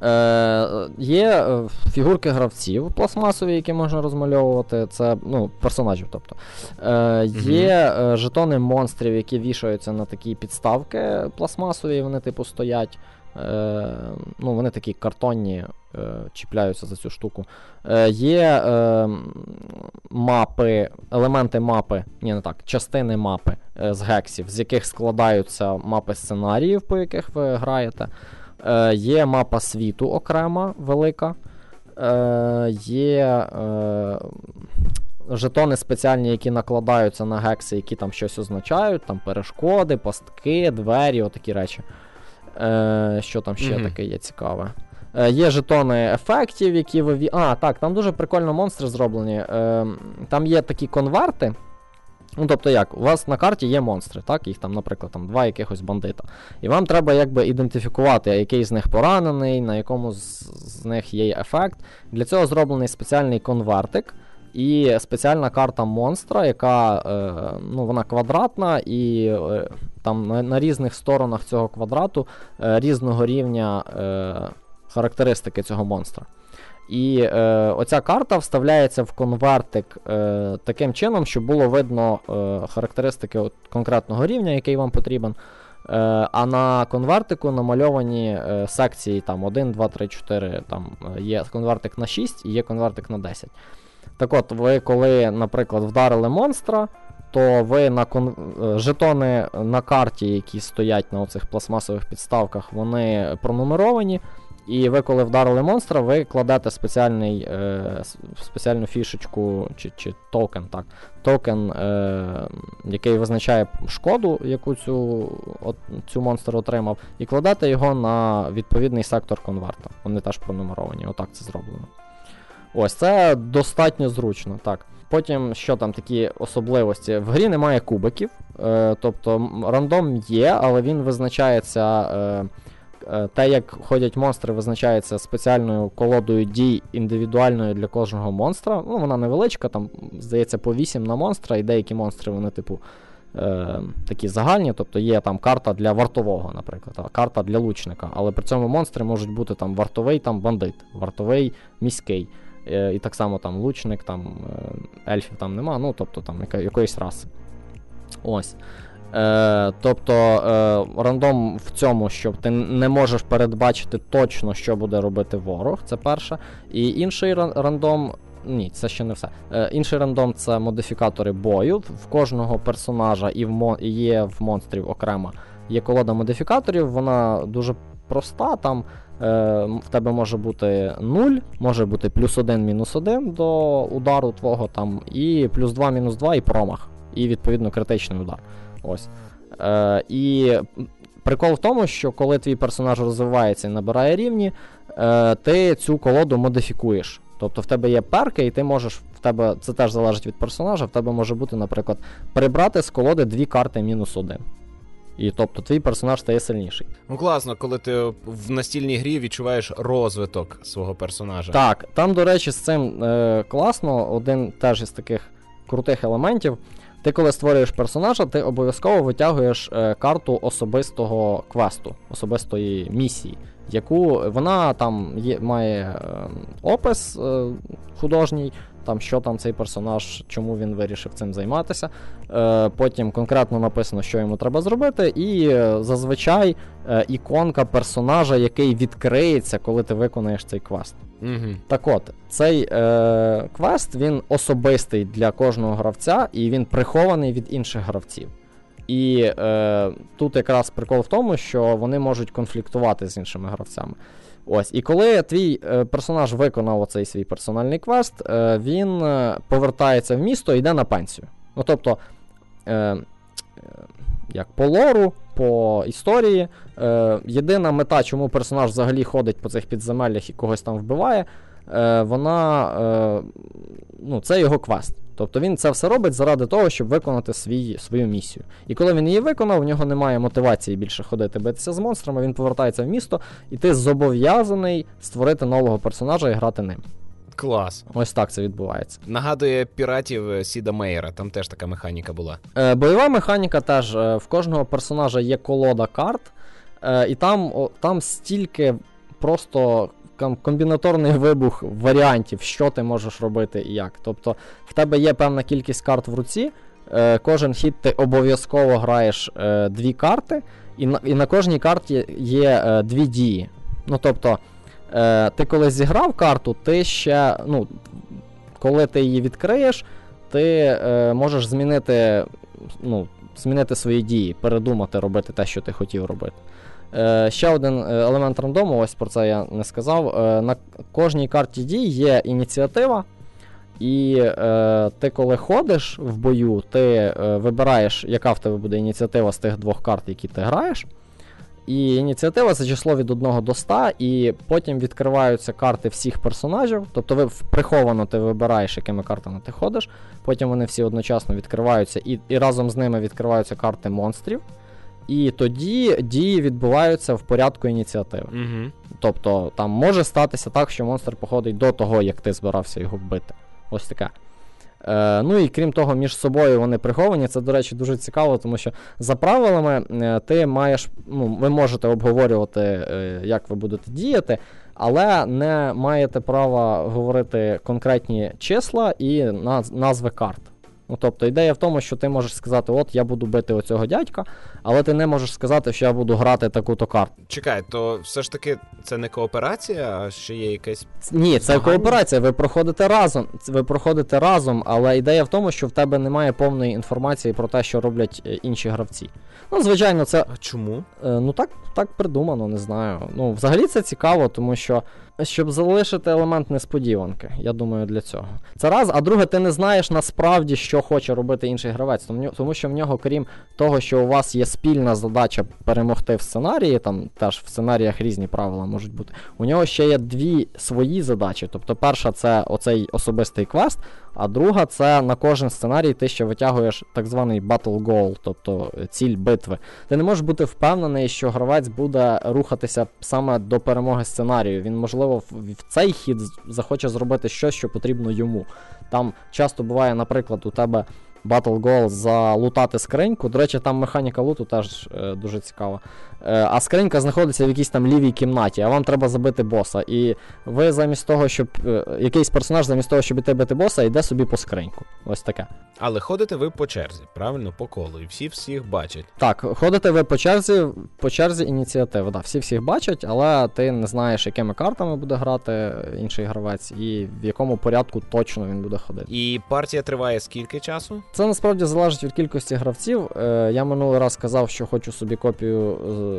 Є фігурки гравців пластмасові, які можна розмальовувати, це, персонажів, тобто. Є жетони монстрів, які вішаються на такі підставки пластмасові, вони типу стоять. Вони такі картонні, чіпляються за цю штуку. Є мапи, елементи мапи, частини мапи з гексів, з яких складаються мапи сценаріїв, по яких ви граєте. Є мапа світу окрема, велика. Є жетони спеціальні, які накладаються на гекси, які там щось означають, там перешкоди, пастки, двері, отакі речі. Що там ще таке є цікаве? Є жетони ефектів, які так, там дуже прикольно монстри зроблені. Там є такі конверти. Ну, тобто як, у вас на карті є монстри, так? Їх там, наприклад, там 2 якихось бандита. І вам треба якби ідентифікувати, який з них поранений, на якому з них є ефект. Для цього зроблений спеціальний конвертик і спеціальна карта монстра, яка, вона квадратна, і там на різних сторонах цього квадрату різного рівня характеристики цього монстра. І оця карта вставляється в конвертик таким чином, щоб було видно характеристики конкретного рівня, який вам потрібен. А на конвертику намальовані секції там 1, 2, 3, 4, там є конвертик на 6 і є конвертик на 10. Так от, ви коли, наприклад, вдарили монстра, то ви жетони на карті, які стоять на оцих пластмасових підставках, вони пронумеровані. І ви, коли вдарили монстра, ви кладете спеціальну фішечку чи токен, який визначає шкоду, яку цю монстр отримав, і кладете його на відповідний сектор конверта. Вони теж пронумеровані, отак це зроблено. Ось, це достатньо зручно, так. Потім, що там такі особливості? В грі немає кубиків, тобто рандом є, але він визначається... Те, як ходять монстри, визначається спеціальною колодою дій індивідуальною для кожного монстра. Ну, вона невеличка, там, здається, по 8 на монстра, і деякі монстри, вони, типу, такі загальні, тобто є там карта для вартового, наприклад, карта для лучника, але при цьому монстри можуть бути там вартовий там бандит, вартовий міський, і так само там лучник, там ельфів там нема, ну, тобто там якоїсь раси. Ось. Тобто рандом в цьому, що ти не можеш передбачити точно, що буде робити ворог, це перше. І інший рандом, ні, це ще не все. Інший рандом — це модифікатори бою. В кожного персонажа і є в монстрів окремо є колода модифікаторів, вона дуже проста, там в тебе може бути 0, може бути +1, -1 до удару твого, там, і +2, -2 і промах, і відповідно критичний удар. Ось. І прикол в тому, що коли твій персонаж розвивається і набирає рівні, ти цю колоду модифікуєш. Тобто в тебе є перки, і ти можеш, це теж залежить від персонажа, в тебе може бути, наприклад, прибрати з колоди 2 карти -1. І тобто твій персонаж стає сильніший. Ну класно, коли ти в настільній грі відчуваєш розвиток свого персонажа. Так, там, до речі, з цим класно, один теж із таких крутих елементів. Ти, коли створюєш персонажа, ти обов'язково витягуєш карту особистого квесту, особистої місії, яку вона там має опис художній, там що там цей персонаж, чому він вирішив цим займатися. Потім конкретно написано, що йому треба зробити, і зазвичай іконка персонажа, який відкриється, коли ти виконаєш цей квест. Угу. Так от, цей квест, він особистий для кожного гравця, і він прихований від інших гравців. І тут якраз прикол в тому, що вони можуть конфліктувати з іншими гравцями. Ось, і коли твій персонаж виконав оцей свій персональний квест, він повертається в місто і йде на пенсію. Ну, тобто, як по лору, по історії, єдина мета, чому персонаж взагалі ходить по цих підземеллях і когось там вбиває, це його квест. Тобто він це все робить заради того, щоб виконати свою місію. І коли він її виконав, у нього немає мотивації більше ходити битися з монстрами, він повертається в місто, і ти зобов'язаний створити нового персонажа і грати ним. Клас. Ось так це відбувається. Нагадує піратів Сіда Мейера, там теж така механіка була. Бойова механіка теж. В кожного персонажа є колода карт, і там стільки просто комбінаторний вибух варіантів, що ти можеш робити і як. Тобто в тебе є певна кількість карт в руці, кожен хід ти обов'язково граєш 2 карти, і на кожній карті є 2 дії. Ну, тобто, ти коли зіграв карту, ти ще, коли ти її відкриєш, ти можеш змінити свої дії, передумати робити те, що ти хотів робити. Ще один елемент рандому, ось про це я не сказав. На кожній карті дій є ініціатива, і ти коли ходиш в бою, ти вибираєш, яка в тебе буде ініціатива з тих 2 карт, які ти граєш, І ініціатива – це число від 1 до 100, і потім відкриваються карти всіх персонажів. Тобто приховано ти вибираєш, якими картами ти ходиш, потім вони всі одночасно відкриваються, і разом з ними відкриваються карти монстрів. І тоді дії відбуваються в порядку ініціативи. Угу. Тобто там може статися так, що монстр походить до того, як ти збирався його вбити. Ось таке. Ну і крім того, між собою вони приховані. Це, до речі, дуже цікаво, тому що за правилами ти маєш, ви можете обговорювати, як ви будете діяти, але не маєте права говорити конкретні числа і назви карт. Ну, тобто ідея в тому, що ти можеш сказати, от я буду бити оцього дядька, але ти не можеш сказати, що я буду грати таку-то карту. Чекай, то все ж таки це не кооперація, а ще є якесь... Ні, це кооперація, ви проходите разом, але ідея в тому, що в тебе немає повної інформації про те, що роблять інші гравці. Ну, звичайно, це... А чому? Ну, так придумано, не знаю. Ну, взагалі це цікаво, тому що щоб залишити елемент несподіванки, я думаю, для цього. Це раз, а друге, ти не знаєш насправді, що хоче робити інший гравець, тому що в нього, крім того, що у вас є спільна задача перемогти в сценарії, там теж в сценаріях різні правила можуть бути, у нього ще є 2 свої задачі. Тобто перша – це оцей особистий квест, а друга – це на кожен сценарій ти ще витягуєш так званий battle goal, тобто ціль битви. Ти не можеш бути впевнений, що гравець буде рухатися саме до перемоги сценарію. Він, можливо, в цей хід захоче зробити щось, що потрібно йому. Там часто буває, наприклад, у тебе Battle Goal залутати скриньку. До речі, там механіка луту теж дуже цікава. А скринька знаходиться в якійсь там лівій кімнаті, а вам треба забити боса. І ви замість того, щоб... якийсь персонаж замість того, щоб іти бити боса, йде собі по скриньку. Ось таке. Але ходите ви по черзі, правильно? По колу. І всі всіх бачать. Так, ходите ви по черзі ініціативи. Да, всі всіх бачать, але ти не знаєш, якими картами буде грати інший гравець і в якому порядку точно він буде ходити. І партія триває скільки часу? Це насправді залежить від кількості гравців. Я минулий раз казав, що хочу собі копію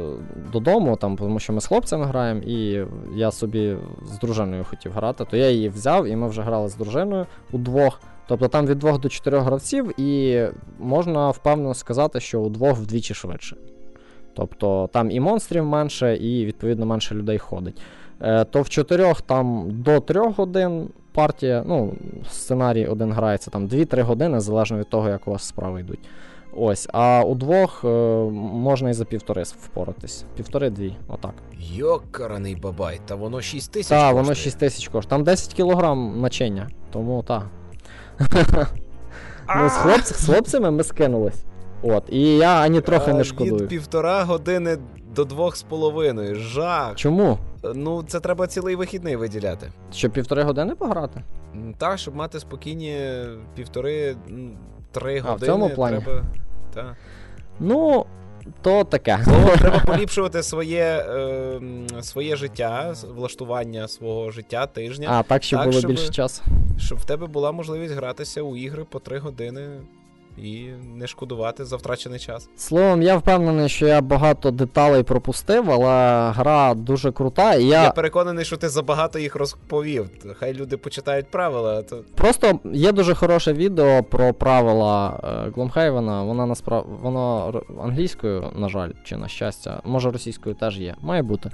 додому, тому що ми з хлопцями граємо, і я собі з дружиною хотів грати, то я її взяв, і ми вже грали з дружиною удвох. Тобто там від 2 до 4 гравців, і можна впевнено сказати, що удвох вдвічі швидше. Тобто там і монстрів менше, і відповідно менше людей ходить. То в 4 там до 3 годин партія, сценарій один грається там 2-3 години, залежно від того, як у вас справи йдуть. Ось, а у 2 можна і за 1,5 впоратись. 1,5-2, отак. Йокараний бабай, та воно 6 тисяч коштує. Так, воно воно 6 тисяч коштує. Там 10 кілограм начиння, тому так. З хлопцями ми скинулись. От, і я ані трохи не шкодую. Від 1,5 години до 2,5. Жах. Чому? Це треба цілий вихідний виділяти. Щоб 1,5 години пограти? Так, щоб мати спокійні 1,5-3 години. А, в цьому плані? Треба... Так. То таке. Треба поліпшувати своє життя, влаштування свого життя, тижня. А, так, щоб було більше часу. Щоб в тебе була можливість гратися у ігри по 3 години і не шкодувати за втрачений час. Словом, я впевнений, що я багато деталей пропустив, але гра дуже крута. І Я переконаний, що ти забагато їх розповів. Хай люди почитають правила. То... Просто є дуже хороше відео про правила Гломхейвена. Воно англійською, на жаль, чи на щастя, може російською теж є. Має бути.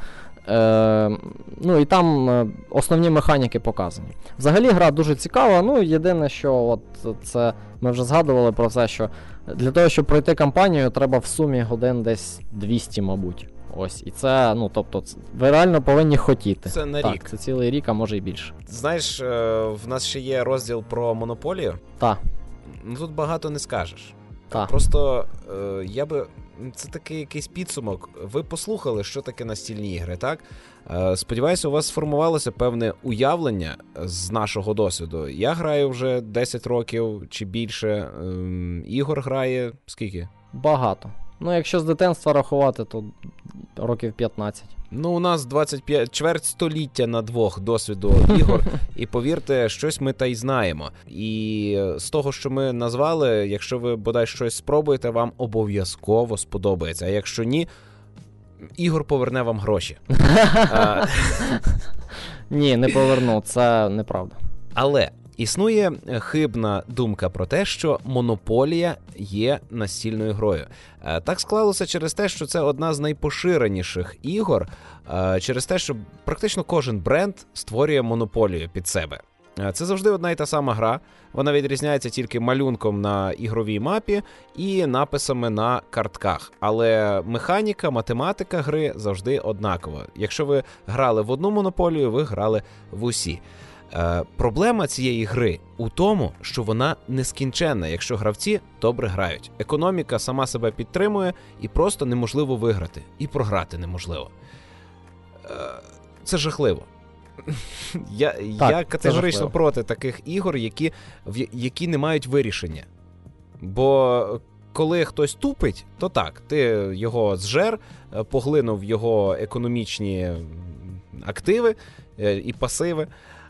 І там основні механіки показані. Взагалі гра дуже цікава, єдине, що це ми вже згадували про це, що для того, щоб пройти кампанію, треба в сумі годин десь 200, мабуть. Ось, і це, тобто, ви реально повинні хотіти. Це на рік. Це цілий рік, а може і більше. Знаєш, в нас ще є розділ про монополію. Так. Тут багато не скажеш. Так. Просто це такий якийсь підсумок. Ви послухали, що таке настільні ігри, так? Сподіваюся, у вас сформувалося певне уявлення з нашого досвіду. Я граю вже 10 років чи більше. Ігор грає скільки? Багато. Якщо з дитинства рахувати, то років 15. У нас чверть століття на 2 досвіду ігор, і повірте, щось ми та й знаємо. І з того, що ми назвали, якщо ви бодай щось спробуєте, вам обов'язково сподобається. А якщо ні, Ігор поверне вам гроші. Ні, не поверну, це неправда. Але Існує хибна думка про те, що монополія є настільною грою. Так склалося через те, що це одна з найпоширеніших ігор, через те, що практично кожен бренд створює монополію під себе. Це завжди одна і та сама гра, вона відрізняється тільки малюнком на ігровій мапі і написами на картках. Але механіка, математика гри завжди однакова. Якщо ви грали в одну монополію, ви грали в усі. Проблема цієї гри у тому, що вона нескінченна, якщо гравці добре грають. Економіка сама себе підтримує і просто неможливо виграти. І програти неможливо. Це жахливо. Я категорично проти таких ігор, які не мають вирішення. Бо коли хтось тупить, то так, ти його зжер, поглинув його економічні активи і пасиви,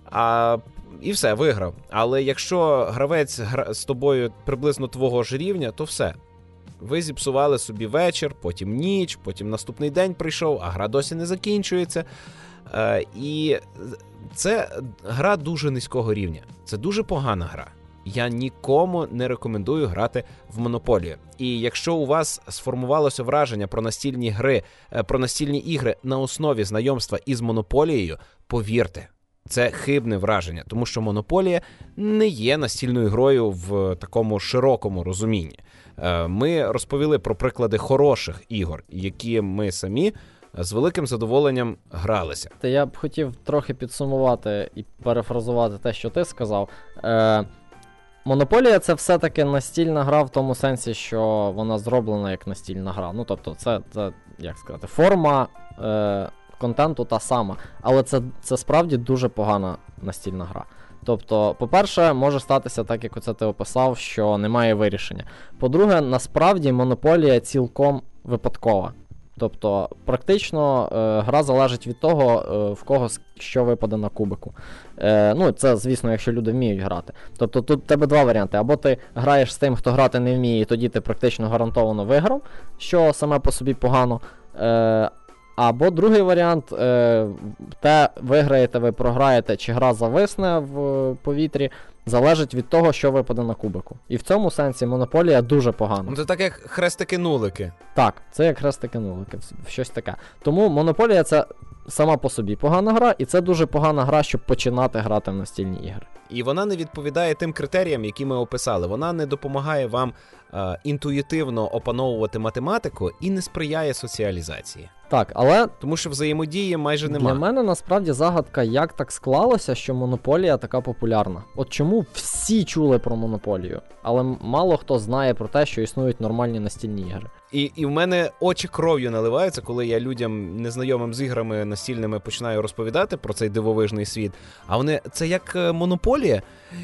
і все, виграв. Але якщо гравець з тобою приблизно твого ж рівня, то все. Ви зіпсували собі вечір, потім ніч, потім наступний день прийшов, а гра досі не закінчується. І це гра дуже низького рівня. Це дуже погана гра. Я нікому не рекомендую грати в монополію. І якщо у вас сформувалося враження про настільні гри, про настільні ігри на основі знайомства із монополією, повірте, це хибне враження, тому що монополія не є настільною грою в такому широкому розумінні. Ми розповіли про приклади хороших ігор, які ми самі з великим задоволенням гралися. Я б хотів трохи підсумувати і перефразувати те, що ти сказав. Монополія — це все-таки настільна гра в тому сенсі, що вона зроблена як настільна гра. Ну, тобто, це як сказати, форма контенту та сама. Але це справді дуже погана настільна гра. Тобто, по-перше, може статися так, як оце ти описав, що немає вирішення. По-друге, насправді монополія цілком випадкова. Тобто, практично гра залежить від того, в кого що випаде на кубику. Ну, це, звісно, якщо люди вміють грати. Тобто, тут в тебе два варіанти. Або ти граєш з тим, хто грати не вміє, і тоді ти практично гарантовано виграв, що саме по собі погано. Або другий варіант, те виграєте ви, програєте, чи гра зависне в повітрі, залежить від того, що випаде на кубику. І в цьому сенсі монополія дуже погана. Ну, це так, як хрестики-нулики. Так, це як хрестики-нулики, щось таке. Тому монополія — це сама по собі погана гра, і це дуже погана гра, щоб починати грати в настільні ігри. І вона не відповідає тим критеріям, які ми описали. Вона не допомагає вам інтуїтивно опановувати математику і не сприяє соціалізації. Так, але тому що взаємодії майже немає. Для мене насправді загадка, як так склалося, що монополія така популярна. От чому всі чули про монополію, але мало хто знає про те, що існують нормальні настільні ігри. І в мене очі кров'ю наливаються, коли я людям, незнайомим з іграми настільними, починаю розповідати про цей дивовижний світ. А вони, це як монополія?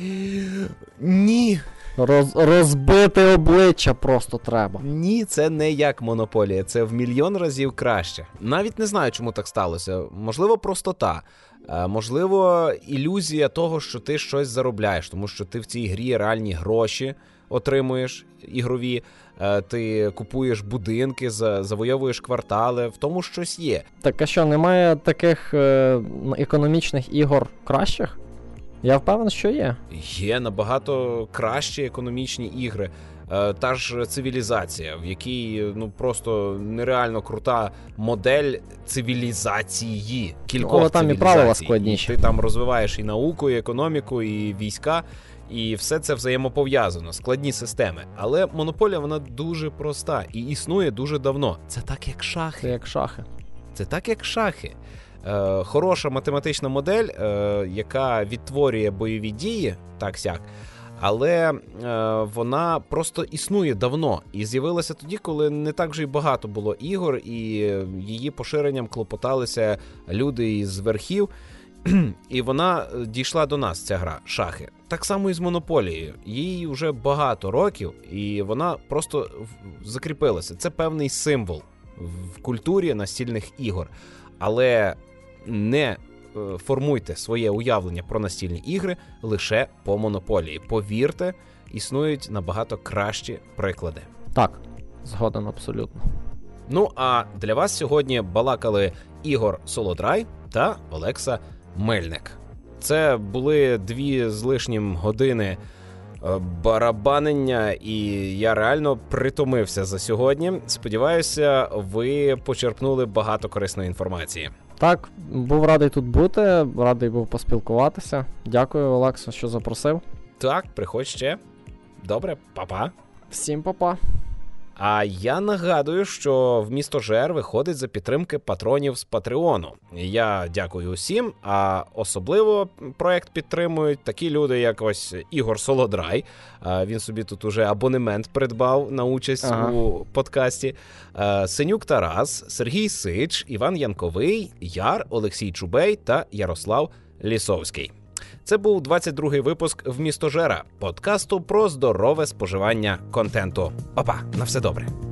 Ні. Розбити обличчя просто треба. Ні, це не як монополія, це в мільйон разів краще. Навіть не знаю, чому так сталося. Можливо, простота. Можливо, ілюзія того, що ти щось заробляєш, тому що ти в цій грі реальні гроші отримуєш ігрові, ти купуєш будинки, завойовуєш квартали, в тому щось є. Так а що, немає таких економічних ігор кращих? Я впевнений, що є. Є набагато кращі економічні ігри. Та ж цивілізація, в якій просто нереально крута модель цивілізації. Кількох там цивілізацій. І правила складніші. Ти там розвиваєш і науку, і економіку, і війська, і все це взаємопов'язано, складні системи. Але монополія, вона дуже проста і існує дуже давно. Це так, як шахи. Це як шахи. Це так, як шахи. Хороша математична модель, яка відтворює бойові дії, так-сяк, але вона просто існує давно і з'явилася тоді, коли не так вже й багато було ігор, і її поширенням клопоталися люди із верхів, і вона дійшла до нас, ця гра, шахи. Так само і з монополією. Їй вже багато років, і вона просто закріпилася. Це певний символ в культурі настільних ігор. Але не формуйте своє уявлення про настільні ігри лише по монополії. Повірте, існують набагато кращі приклади. Так, згоден абсолютно. Ну, а для вас сьогодні балакали Ігор Солодрай та Олекса Мельник. Це були 2 з лишнім години барабанення, і я реально притомився за сьогодні. Сподіваюся, ви почерпнули багато корисної інформації. Так, був радий тут бути, радий був поспілкуватися. Дякую, Олексо, що запросив. Так, приходь ще. Добре, па-па. Всім па-па. А я нагадую, що «Вмістожер» виходить за підтримки патронів з Патреону. Я дякую усім, а особливо проект підтримують такі люди, як ось Ігор Солодрай. Він собі тут уже абонемент придбав на участь у подкасті. Синюк Тарас, Сергій Сич, Іван Янковий, Яр, Олексій Чубей та Ярослав Лісовський. Це був 22-й випуск «Вмістожера» – подкасту про здорове споживання контенту. Па-па, на все добре.